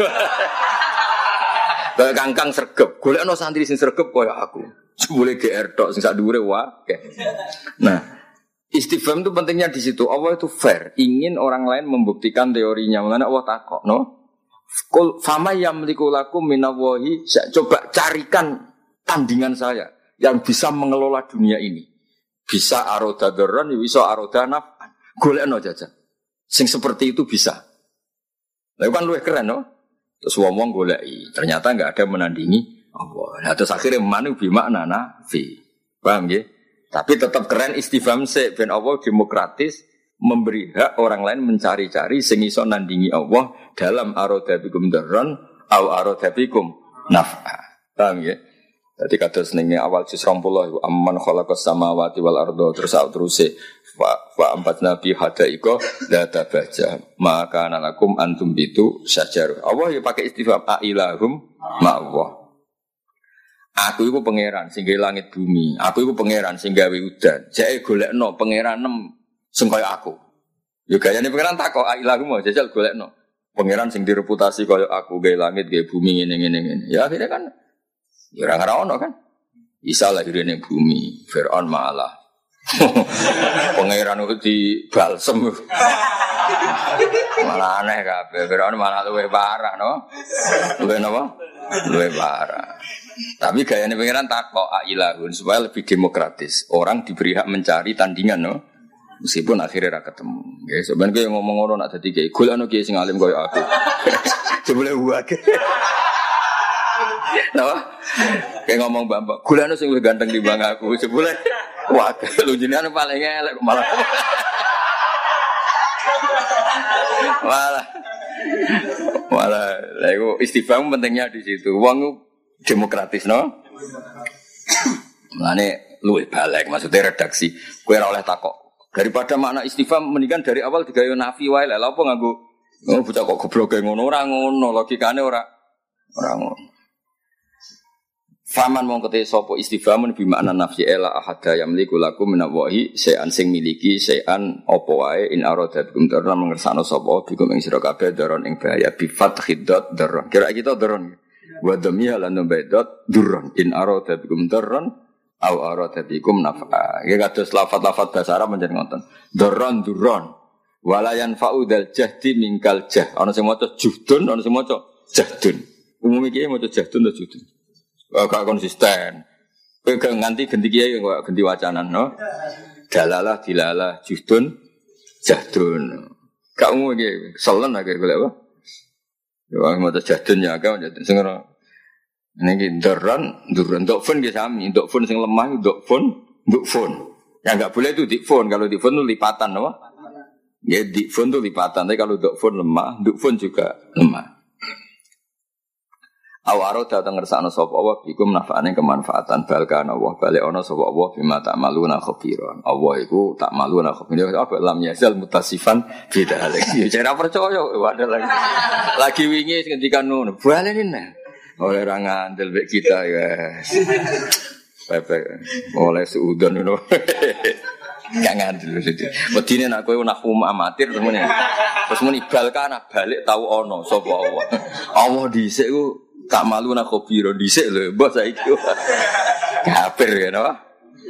Kayak kangkang sregep, golekno santri sing sregep kaya aku. Boleh GR tok sing sak dhuwure wae. Nah, istifham itu pentingnya di situ. Allah itu fair, ingin orang lain membuktikan teorinya. Mengenai Allah takok, no? Qul fama yamliku lakum minallahi, coba carikan tandingan saya yang bisa mengelola dunia ini. Bisa aroda darran, bisa aroda naf'an. Golekno jajan. Sing seperti itu bisa. Lah kan luwih keren, no? Terus wong goleki, ternyata enggak ada menandingi Allah. Nah, terus akhirnya manu bimakna nafi. Paham nggih? Tapi tetap keren istifham sik ben Allah demokratis memberi hak orang lain mencari-cari sing iso nandingi Allah dalam aroda bikum darran au aroda bikum naf'a. Paham nggih? Dadi kados ning awal juz 20 amman khalaqas samawati wal arda terus wa empat nabi hadaiko la tabaja maka nalakum antum bitu syajar. Allah ya pakai istifham ailahum ma Allah. Aku iku pangeran sing gawe langit bumi. Aku iku pangeran sing gawe udan. Jake golekno pangeran sing kaya aku. Ya gayane pangeran takok ailahum jajal golekno. Pangeran sing direputasi kaya aku gawe langit gawe bumi ngene. Ya akhirnya kan ya ora ono kan. Isa lahir ning bumi, Firaun malah pangeran itu di balsem. Malah aneh kabeh. Firaun malah luwih parah no. Luwih napa? Luwih parah. Tapi gayane pangeran takok ailahun supaya lebih demokratis. Orang diberi hak mencari tandingan no. Meskipun akhirnya ra ketemu. Ya sebenarnya yang ngomong ngono nak dadi kiai. Golekno kiai sing alim koyo aku. Jebule wae. Napa? Kayak ngomong Mbak, golekno sing luwih ganteng timbang aku. Jebule wah, lu jenengan paling elek malah. Lah iku istifham pentingnya di situ. Wong demokratis no. Mulane luwih balek maksudnya redaksi. Kowe ora oleh takok. Daripada makna istifham mendingan dari awal digawe nafi wae. Lah apa nganggo bocah kok goblok ngono ora ngono, logikane ora ngono. Faman mongkote sapa istifhamun bi makna nafsi ela ahada yamliku lakum minallahi sayan sing miliki sayan apa wae in arada bikum darra mengersano sapa bikum ing sira kabeh daron ing bahaya bi fathiddat darron. Kira kita darron. Wa dhamia lan baidot durron in arada bikum darron au arada bikum nafa. Ya kados lafaz-lafaz bahasa Arab menjen ngoten. Darron durron. Wala yanfa'u dal jahdi mingkal jah. Ana sing maca juhdun, ana sing maca jahdun. Umum iki maca jahdun ta juhdun. Gak konsisten. Kowe nganti ganti kiai kok ganti wacanan no. Dalalah dilalah juhdun Jahdun. Kamu iki selen akhir golek apa? Ya mau jahdun ya kamu jahdun sing ora. Niki duran dokfon nggih sami, dokfon sing lemah dokfon. Ya enggak boleh itu dikfon, kalau dikfon itu lipatan apa? Ya dikfon itu lipatan, tapi kalau dokfon lemah, dokfon juga lemah. Awaro datang ngersakno sapa Allah iku manfaatane kemanfaatan balkan Allah balik ana sapa Allah bima ta'maluna khabiran. Allah iku ta'maluna khabiran. Apa lam yazal mutasifan bidalik. Ya cara percaya wae lagi wingi ngendikan ngono. Balene oleh ra ngandel mek kita ya. Pepe oleh suudon ngono. Gak ngandel dadi. Wedine nek kowe nahum amatir temene. Terus muni balkan balik tau ana sapa Allah. Allah dhisik ku tak malu nak kopi rodisek lho, bos saiki. Kafir ya napa?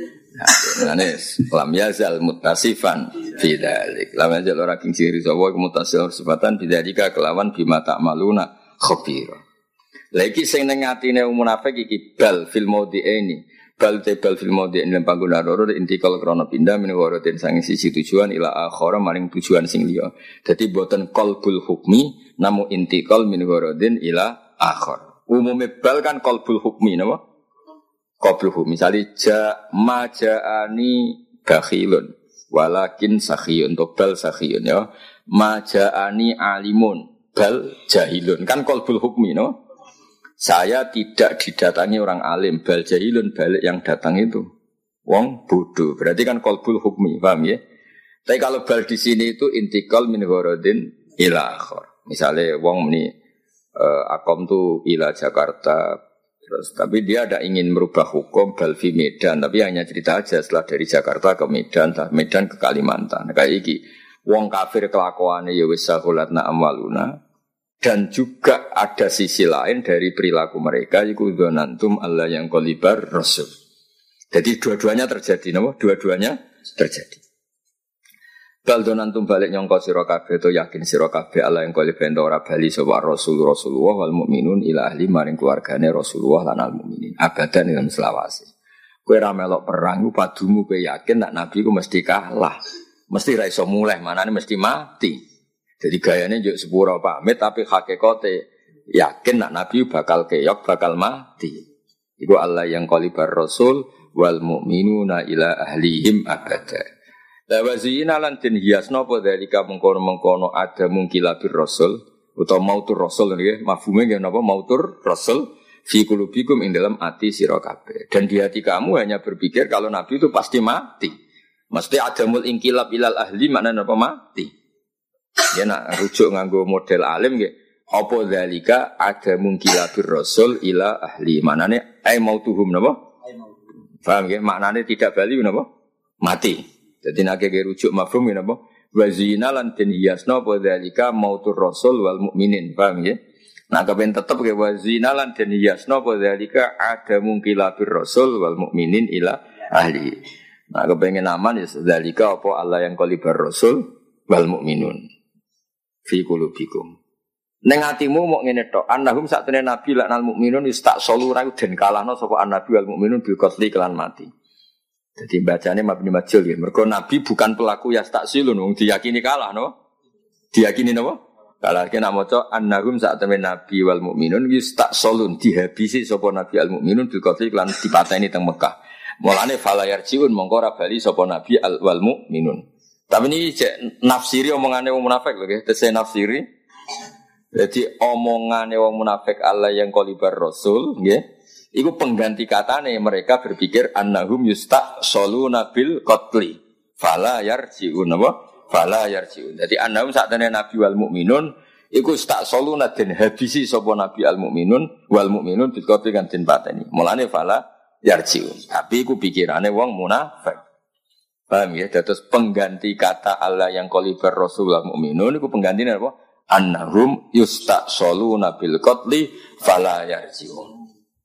Manis, lam yazal mutasifan bidzalik. Lam yazal ora king ciri sapa mutasif sifatan bidzalika kelawan bima tak maluna khabira. Lah iki sing ning atine munafik iki bal fil maudhi'ini. Bal fil maudhi'in lan panggonan loro intikal krana pindah min waratin sang siji tujuan ila akhara maring tujuan sing liya. Dadi boten qalbul hukmi namu intikal min waratin ila akhar. Umumnya bal kan qalbul hukmi napa? Qalbul hukmi misale maja'ani bakhilun walakin sakhiyun to bal sakhiyun ya. Maja'ani alimun bal jahilun kan qalbul hukmi no? Saya tidak didatangi orang alim bal jahilun balik yang datang itu wong bodoh. Berarti kan qalbul hukmi, paham ya? Tapi kalau bal di sini itu intikal min gharadin ila akhar. Misale wong muni akom tu ila Jakarta terus tapi dia ada ingin merubah hukum Balfi Medan tapi hanya cerita aja setelah dari Jakarta ke Medan Medan ke Kalimantan kayak iki wong kafir kelakuane ya wis sakulatna amwaluna dan juga ada sisi lain dari perilaku mereka iku dzanantum Allah yang qalibar rasul. Jadi dua-duanya terjadi napa dua-duanya terjadi. Baldonan tumbalik nyongko sira kabeh to yakin sira kabeh Allah yang kalih bento ora bali sapa Rasulullah wal mukminun ila ahli maring keluargane Rasulullah lan al mukminin abadan ing selawase. Kowe ra melok perang ku padumu kowe yakin nek nabi ku mesti kalah. Mesti ra iso mulih, manane mesti mati. Jadi gayane njuk sepuro pamit tapi hakikate yakin nek nabi bakal keok bakal mati. Iku Allah yang qalibar Rasul wal mukminuna ila ahlihim abadan. La wazina lan den hiasna apa dalika mengkono-mengkono ada mungkilabir rasul utawa mautur rasul nggih mafhume nggih napa mautur rasul fi qulubikum ing dalam ati sira kabeh dan di hati kamu hanya berpikir kalau nabi itu pasti mati mesti adamul inqilab ilal ahli maknane apa mati ya nak rujuk nganggo model alim nggih apa dalika ada mungkilabir rasul ila ahli maknane ai mautuhum napa paham nggih maknane tidak bali napa mati. Jadi nak rujuk mafhum ini apa? Wazina lan den hiasna apa dalika mautur rasul wal mukminin, paham ya? Nah kepen tetep ke wazina lan den hiasna apa dalika ada mungkilabir rasul wal mukminin ila ahli. Nah kepengen aman ya dalika apa Allah yang qalibar rasul wal mukminun fi qulubikum. Ning atimu mok ngene tok, annahum satune nabi lan al mukminun istak solura den kalahno sapa annabi wal mukminun bil qatli kelan mati. Jadi bacanya mabni majul ya. Mergo Nabi bukan pelaku yastaksilun, wong diyakini kalah no. Diyakini napa? Kalah kena maca annahum sa'atamene Nabi wal mukminun yastaksolun dihabisi sapa Nabi al mukminun bil qatli lan dipateni teng Mekah. Mulane fala yarjiun mongko ora bali sapa Nabi al wal mukminun. Tapi ini cek nafsiri omongane wong munafik lho nggih, tese nafsiri. Jadi omongane wong munafik Allah yang qalibar rasul nggih. Iku pengganti katane mereka berpikir annahum yustaqsaluna bil qatli fala yarjiun apa fala yarjiun. Jadi annahum sakjane nabi wal mukminun iku istaqsaluna den habisi sapa nabi al mukminun wal mukminun bil qatli kan den pateni. Mulane fala yarjiun. Tapi iku pikirane wong munafik. Paham ya? Dados pengganti kata Allah yang qalibar rasul wal mukminun iku penggantine apa? Annahum yustaqsaluna bil qatli fala yarjiun.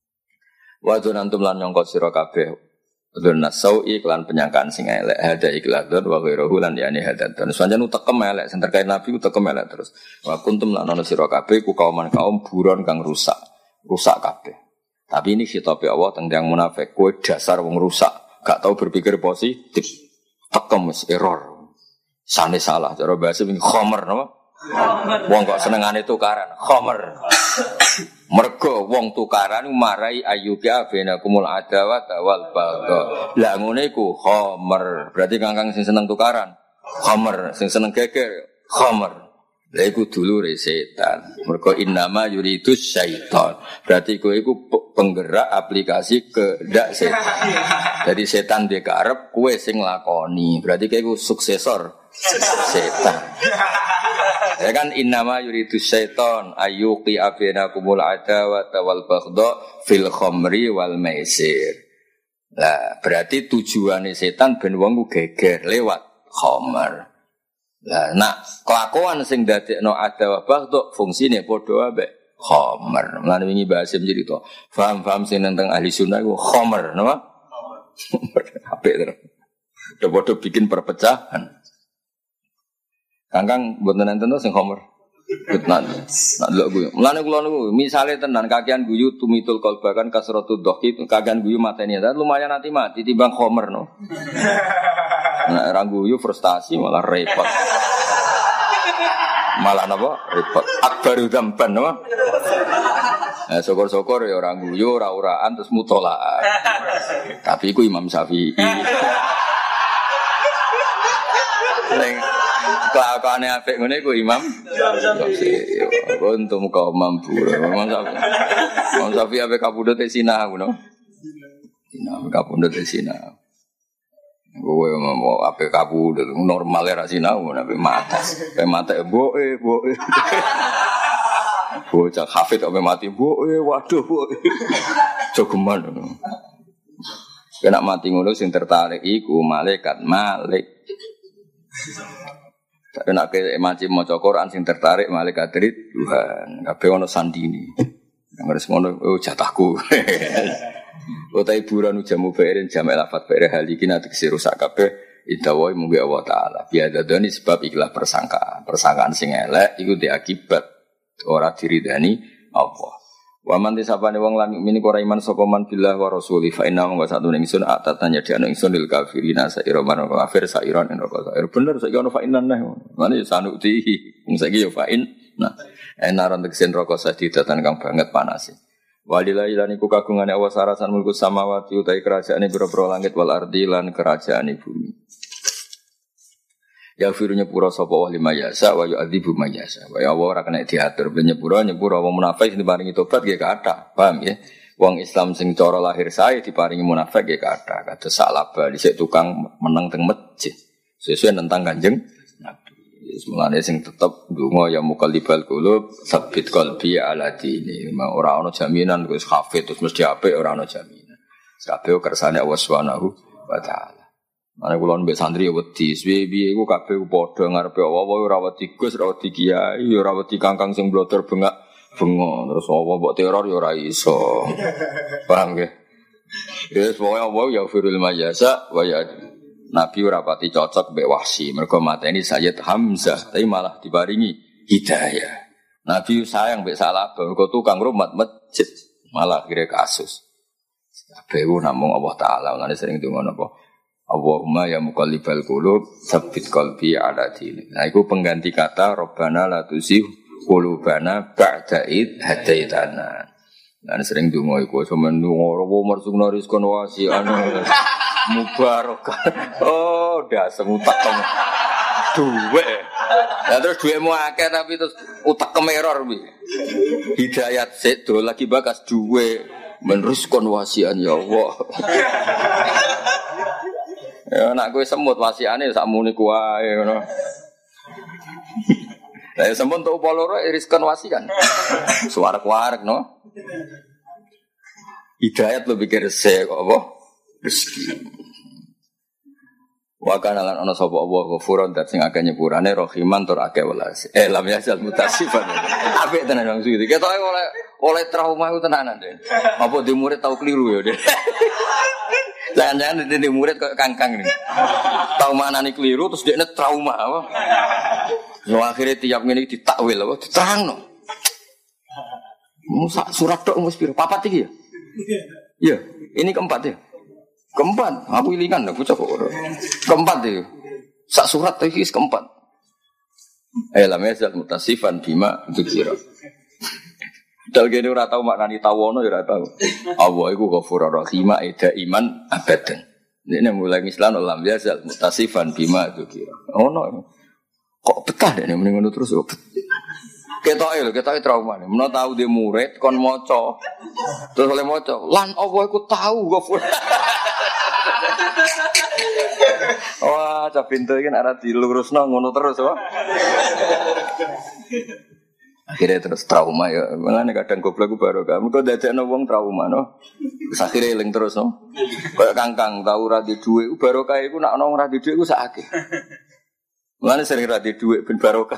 Wa dzanantum lan nyangka sira kabeh dzanna sau'i kelan penyangkaan sing elek hada ikladun wa ghairuhu lan yani hadatun sanjan utekem elek sing terkait nabi utekem elek terus wa kuntum lan ana sira kabeh ku kaum buron kang rusak kabeh tapi ini khitabe Allah tentang munafik kowe dasar wong rusak gak tau berpikir positif tekem wis error Sane salah cara bahasa ini khomer napa? Wong kok senengane tukaran, khomer. Mergo wong tukaran marai ayyuka bainakumul adawat wal bagha. Lah ngene iku khomer. Berarti kangkang sing seneng tukaran, khomer, sing seneng geger, khomer. Lah iku dulure setan. Mergo innama yuridus syaitan. Berarti kowe iku penggerak aplikasi kehendak setan. Jadi setan dia karep kowe sing lakoni. Berarti kowe iku suksesor setan. Ya kan innama yuridus syaitan ayyuqi bainakumul adawata wal baghdha fil khamri wal maisir. Lah berarti tujuane setan ben wong ku geger lewat khamr. Lah nak kelakuan sing dadekno adawa baghdha fungsine padha ambek khamr. Mulane wingi bahas cerita. Paham-paham sing tentang ahli sunnah iku khamr, napa? Apik terus. Padha bikin perpecahan. Kangkang mboten enten to sing homer. Nak delok guyu. Mulane kula niku misale tenan kakean guyu tumitul qalba kan kasratu dhaqi kakean guyu mateni ta lumayan mati timbang homer no. Nek ora guyu frustasi malah repot. Malah napa? Repot. Akbaru dzamban no. Syukur-syukur ya ora guyu ora-oraan terus mutolaah. Tapi iku Imam Syafi'i. Kelakuane apik ngene iku Imam Syafi'i. Untung kau mampu. Imam Syafi'i apik kapundhut sinah ngono. Sinah kapundhut sinah. Kowe mau apik kapundhut normal ra sinah ngono apik mata. Apik mata boke. Bocah hafid kok mati boke waduh boke. Jogeman ngono. Kena mati ngono sing tertarik iku malaikat Malik. Tapi nak ke macam maca Quran sing tertarik malaikat Tuhan. Kabeh ono sandini. Nang ngono jatahku. Utai buran jamu bairin jamak lafat bair halikin atik rusak kabeh idawai mugi Allah taala. Biadadani sebab ikhlas persangkaan sing elek iku diakibat ora diridani Allah. Wa man tisapane wong lan mukmin ora iman sapa man billah wa rasuli fa inna wa satu ning sun atatanya diano ingsun lil kafirina saira man kafir sairon ing roko sair bener saiki ono fa inna nah mane sanuti wong saiki yo fa in nah enaran teksen roko sadidatan kang banget panase walillahi lan iku kagungane Allah sarasan mulku samawati utahe kerajaane pira-pira langit wal ardi lan kerajaane bumi. Ya firunya pura sapa wa lima yasa wa yu'adzibu ma yasa. Wa ya Allah ora kena diatur ben nyepura wong munafik diparingi tobat nggih kathah. Paham nggih? Wong Islam sing cara lahir sae diparingi munafik nggih kathah. Kados salaba dhisik tukang meneng teng masjid. Sesuai nentang Kanjeng Nabi. Mulane sing tetep ndonga ya muqallibal qulub sabbit qalbi ala dini. Ora ana jaminan wis hafid terus mesti apik ora ana jaminan. Kabeh kersane Allah Subhanahu wa taala. Ana kula mbek santri wedi, piye iku kabeh padha ngarepe apa ora wedi Gus, ora wedi Kiai, ora wedi kangkang sing blotor bengak-bengok. Terus apa mbok teror ya ora iso. Paham nggih? Wis pokoke apa ya firul majasa wa ya Nabi ora pati cocok mbek Wahsy, mergo mateni Sayyid Hamzah, tapi malah diparingi hidayah. Nabi sayang mbek Salabah, mergo tukang rumat masjid, malah kira kasus. Kabeh namung Allah taala, lan sering donga napa? Allahumma ya muqallibal qulub tsabbit qalbi ala dinik. Nah iku pengganti kata Rabbana la tuzigh qulubana ba'da id hadaitana. Lan sering donga iku semen donga marsukna rizqan wasi'an mubarak. Oh, dasem utak kamu. Duwe. Lah terus duwemu akeh tapi terus utak kemeror piye. Hidayat sik do lagi bakas duwe menrizqan wasi'an ya Allah. Ya nak kowe semut wasiane sakmune kuwae ngono. Lah semut tok poloro iriskan wasi kan. Suwarek-warek no. Hidayat lo pikir se kok apa? Rezeki. Wa kana lan ana sapa Allah ghafurun dat sing akeh nyepurane rahiman tur akeh welas. Lam yasal mutasifan. Apik tenan wong suwi. Ketoke oleh trauma ku tenanan Den. Apa di murid tau keliru ya Den. Jangan-jangan di murid kok kangkang ini. Tahu mana nih keliru terus dia trauma apa? Lo akhirnya tiap ini ditakwil apa? Diterangno. Musa surat dok mus piro? Papat iki ya? Iya, ini keempat ya. Keempat, aku ilikan lah, bocah kok. Keempat ya. Sak surat iki keempat. Lam yazal mutasifan bima dzikra. Dal gene ora tau maknani tawono ya ora tau. Allah iku Ghafurur Rahim ida iman abadan. Nek mulai Islam lam yazal mutasifan bima dzikra. Ono kok betah nek muni ngono terus kok. Ketoke trauma nih. Menawa tahu dia murid kon maca. Terus oleh maca, lan Allah iku tahu Ghafur. Wah, cah pintu iki nek ora dilurusno ngono terus wae. Akhirnya terus trauma ya. Mulane kadang goblok ku baru kamu kok dadekno wong trauma no. Akhire eling terus no. Kayak kangkang tau ora di dhuwit barokah iku nek ana ora di dhuwit ku sak akeh. Mulane sering ra di dhuwit ben barokah.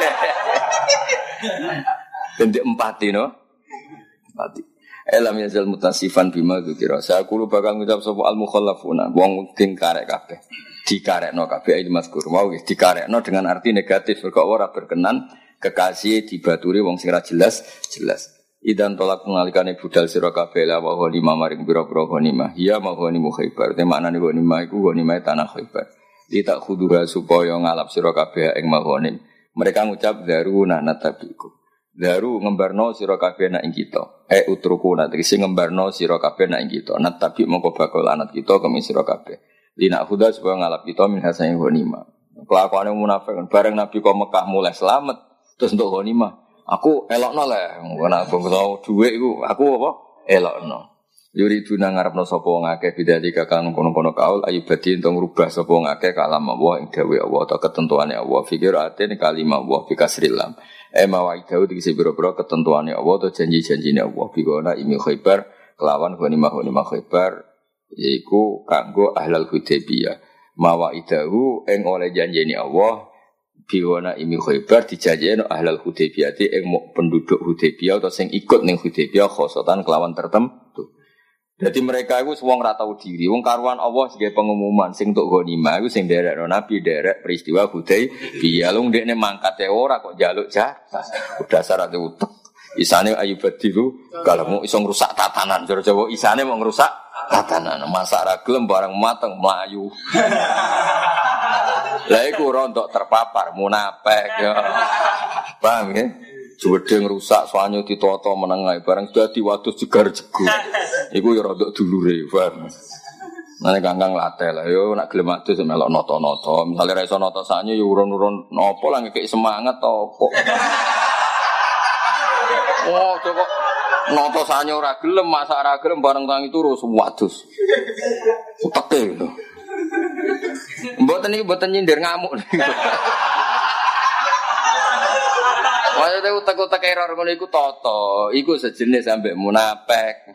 Ben empati no. Empati. Elam yazal mutasifan bima dzikra. Saya kulo bakal ngucap sapa al mukhallafuna wong sing karek kabeh. Dikarekno kabeh iki mazkur mau dikarekno dengan arti negatif kok ora berkenan kekasih dibaturi wong sing ra jelas. Idan tolak mengalikane budal sira kabeh la wa ghanimah maring pira-pira ghanimah. Ya ma ghanimah Khaibar. Te maknane ghanimah iku ghanimah tanah Khaibar. Ditak khuduha supaya ngalap sira kabeh ing maghanim. Mereka ngucap daruna natabiku. Daru ngembarno sira kabeh nak ing kita. Utruku nak tegese ngembarno sira kabeh nak ing kita. Natabi mongko bakal anat kita kemi sira kabeh. Dina khuda supaya ngalap kita min hasanah ghanimah. Kelakuane munafik bareng Nabi kok Mekah mulai selamat terus untuk ghanimah. Aku elokno le, ngono aku tau dhuwit iku aku apa? Elokno. Yuri duna ngarepno sapa wong akeh bidali kakang kono-kono kaul ayibadi entuk ngrubah sapa wong akeh kalam Allah ing dawuh Allah atau ketentuane Allah fikir aten kalimah Allah bikasrilam. Mawaidahu dikisi biro-biro ketentuane Allah atau janji-janjine Allah bigona imi Khaibar kelawan ghanimah Khaibar yaiku kanggo ahlal Hudaybiyah. Mawaidahu ing oleh janjine Allah bigona imi Khaibar dijanjine ahlal Hudaybiyah ing penduduk Hudaybiyah atau sing ikut ning Hudaybiyah khosotan kelawan tertentu. Jadi mereka itu semua ora tau diri. Wong karuan Allah sebagai pengumuman sing tok ghanimah iku sing nderekno Nabi derek peristiwa Hudaybiyah. Lung dekne mangkate ora kok njaluk jatah. Udah syarat utek. Isane ayubadilu kalau iso ngrusak tatanan. Jawa isane mau ngrusak tatanan. Masak ra gelem barang mateng mlayu. Lah iku rontok terpapar munafik ya. Paham ya? Jedeng rusak soalnya ditoto menengai barang sudah diwatus jegar-jegur. Iku ya rodok dulure, paham. Nane kangkang latte lah yo nak gelem adus melok noto-noto. Misale ra iso noto saknya yo urun-urun nopo lah ngekek semangat to opo. Oh, coba noto saknya ora gelem, masak ora gelem bareng tangi turu wadus. Uteke lho. Mboten nyindir ngamuk. Maksudnya utak-utak error ngono iku toto, iku sejenis sampai munafik.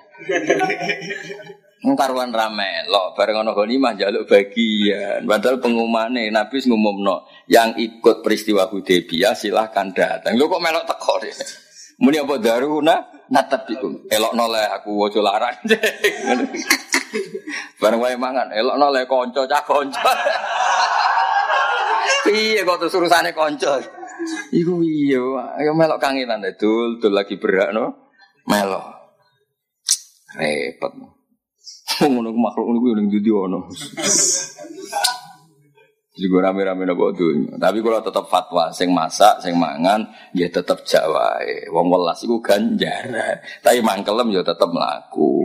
Karuan rame lo bareng ana ghanimah njaluk bagian. Padahal pengumumane Nabi ngumumno yang ikut peristiwa Hudaybiyah silahkan datang. Lho kok melok teko deh. Muni apa daruna natabikum. Elokno le aku aja larang. Bareng wae mangan elokno le kanca cah kanca. Piye kok terus urusane kanca. Iku iya, ayo melok kangenan dul lagi berak no. Melok. Repot. Ngono makhluk niku ning ndi ono. Juga rame-rame napa dunya. Tapi kalau tetap fatwa sing masak, sing mangan ya tetap jak wae. Wong welas iku ganjaran. Tapi mangkelem ya tetap mlaku.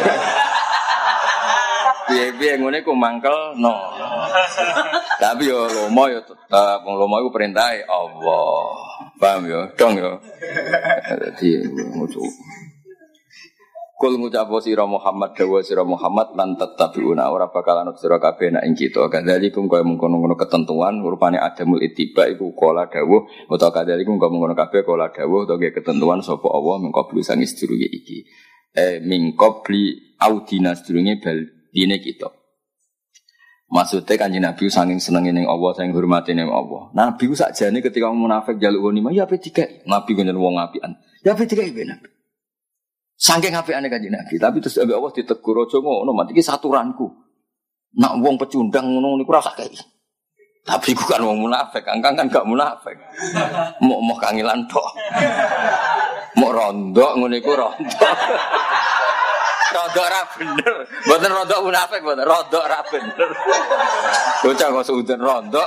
Piye-piye ngene ku mangkel no. Tapi yo lomo yo tetep wong lomo iku perintahe Allah. Paham yo? Dong yo. Dadi ngucap. Kul ngucap sira Muhammad dawa sira Muhammad lan tatabiuna ora bakal anut sira kabeh nek ing kita. Kadzalikum kaya mengkono-kono ketentuan rupane adamul ittiba iku kala dawuh utawa kadzalikum kaya mengkono kabeh kala dawuh utawa ketentuan sapa Allah mengkobli sang sedurunge iki. Mingkobli audina sedurunge bal dine kita. Maksudnya Kanjeng Nabi saking senenge ning Allah, saking hormate ning Allah. Nabi ku sakjane ketika munafik njaluk ghanimah ya ape dikai. Nabi ku njen wong apian. Ya ape dikai ben Nabi. Saking apiane Kanjeng Nabi, tapi terus ambek Allah ditegur aja ngono, mat iki saturanku. Nak wong pecundang ngono niku ora sak kei. Tapi ku kan wong munafik, kangkang kan gak munafik. Mok kangilan tok. Mok rondok ngono iku rondok. Rodok ra bener. Mboten rodok munafik, mboten rodok ra bener. Bocah kok seuden rodok.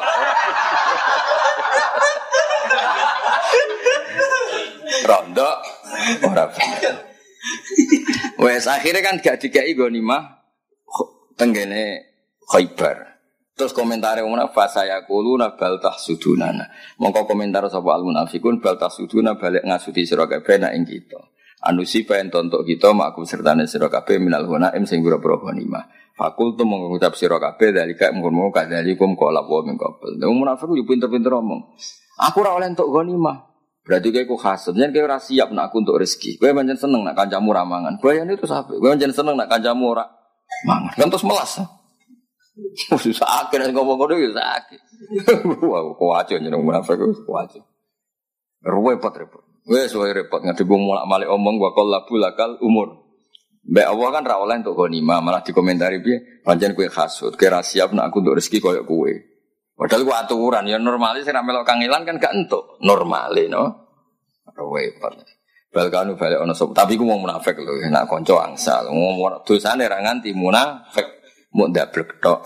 Rodok ora bener. Wes akhirnya kan gak dikai ghanimah tenggene Khaibar. Terus komentare wong nafas saya kuluna bal tahsudunana. Mongko komentar sapa al munafikun bal tahsuduna balik ngasuti sira kabeh nak ing kita. Anusi paen tontok kita makum sertane sira kabeh minal ghanaim sing pira-pira ghanimah. Fakultu mengucap sira kabeh dalika mung kadalikum qala wa min qabl. Wong munafik yo pinter-pinter omong. Aku ora oleh entuk ghanimah. Berarti kowe hasud, yen kowe ora siap nak aku entuk rezeki. Kowe pancen seneng nak kancamu ra mangan. Bayane itu sampe. Kowe pancen seneng nak kancamu ora mangan. Kan terus melas. Sakit nek ngomong ngono ya sakit. Wah, kok aja jeneng munafik kok aja. Repot. Wes wae repot ngadep wong mulak-malik omong wa qallabu lakal umur. Mbak Allah kan ra oleh entuk ghanimah, malah dikomentari piye? Pancen kowe hasud, kowe ra siap nak aku entuk rezeki koyo kowe. Padahal ku aturan ya normale sing ra melok kangelan kan gak entuk. Normale no. Repot. Balkanu balik ana sop. Tapi ku wong munafik lho, nek kanca angsal. Ngomong dosane ra nganti munafik. Muk ndablek tok.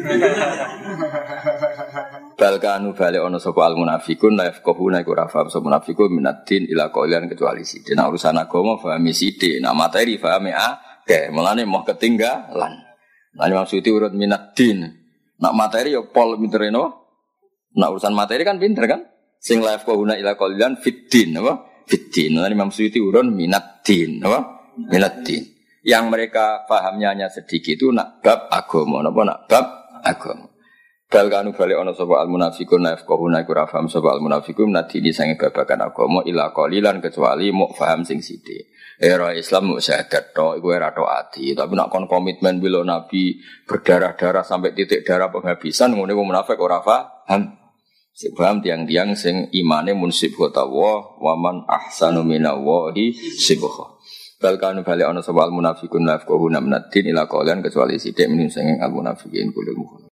Balkanu balik ana sapa al munafiqun la yafqahuna iku ra paham sapa munafiqun minaddin ila qaulan kecuali sithik. Nek urusan agama pahami sithik, nek materi pahami akeh. Mulane moh ketinggalan. Lan maksudé urut minaddin. Nek materi ya pol pintere no. Nek urusan materi kan pinter kan? Sing la yafqahuna ila qaulan fiddin apa? Fiddin. Lan maksudé urun minaddin apa? Minaddin. Yang mereka pahamnya hanya sedikit itu nak bab agama, napa nak bab agama. Bal kanu bali ana sapa al munafiqun nafqahuna iku ra paham sapa al munafiqun nadini sange babagan agama ila qalilan kecuali muk paham sing sithik. Era Islam muk syahadat tok iku ora tok ati, tapi nak kon komitmen bila nabi berdarah-darah sampai titik darah penghabisan ngene wong munafik ora paham. Sing paham tiang-tiang sing imane munsib wa man ahsanu minallahi sibgha. Balkanu balik ana sapa al munafiqun nafqahuna minaddin ila qaulan kecuali sithik min sing al munafiqin kulul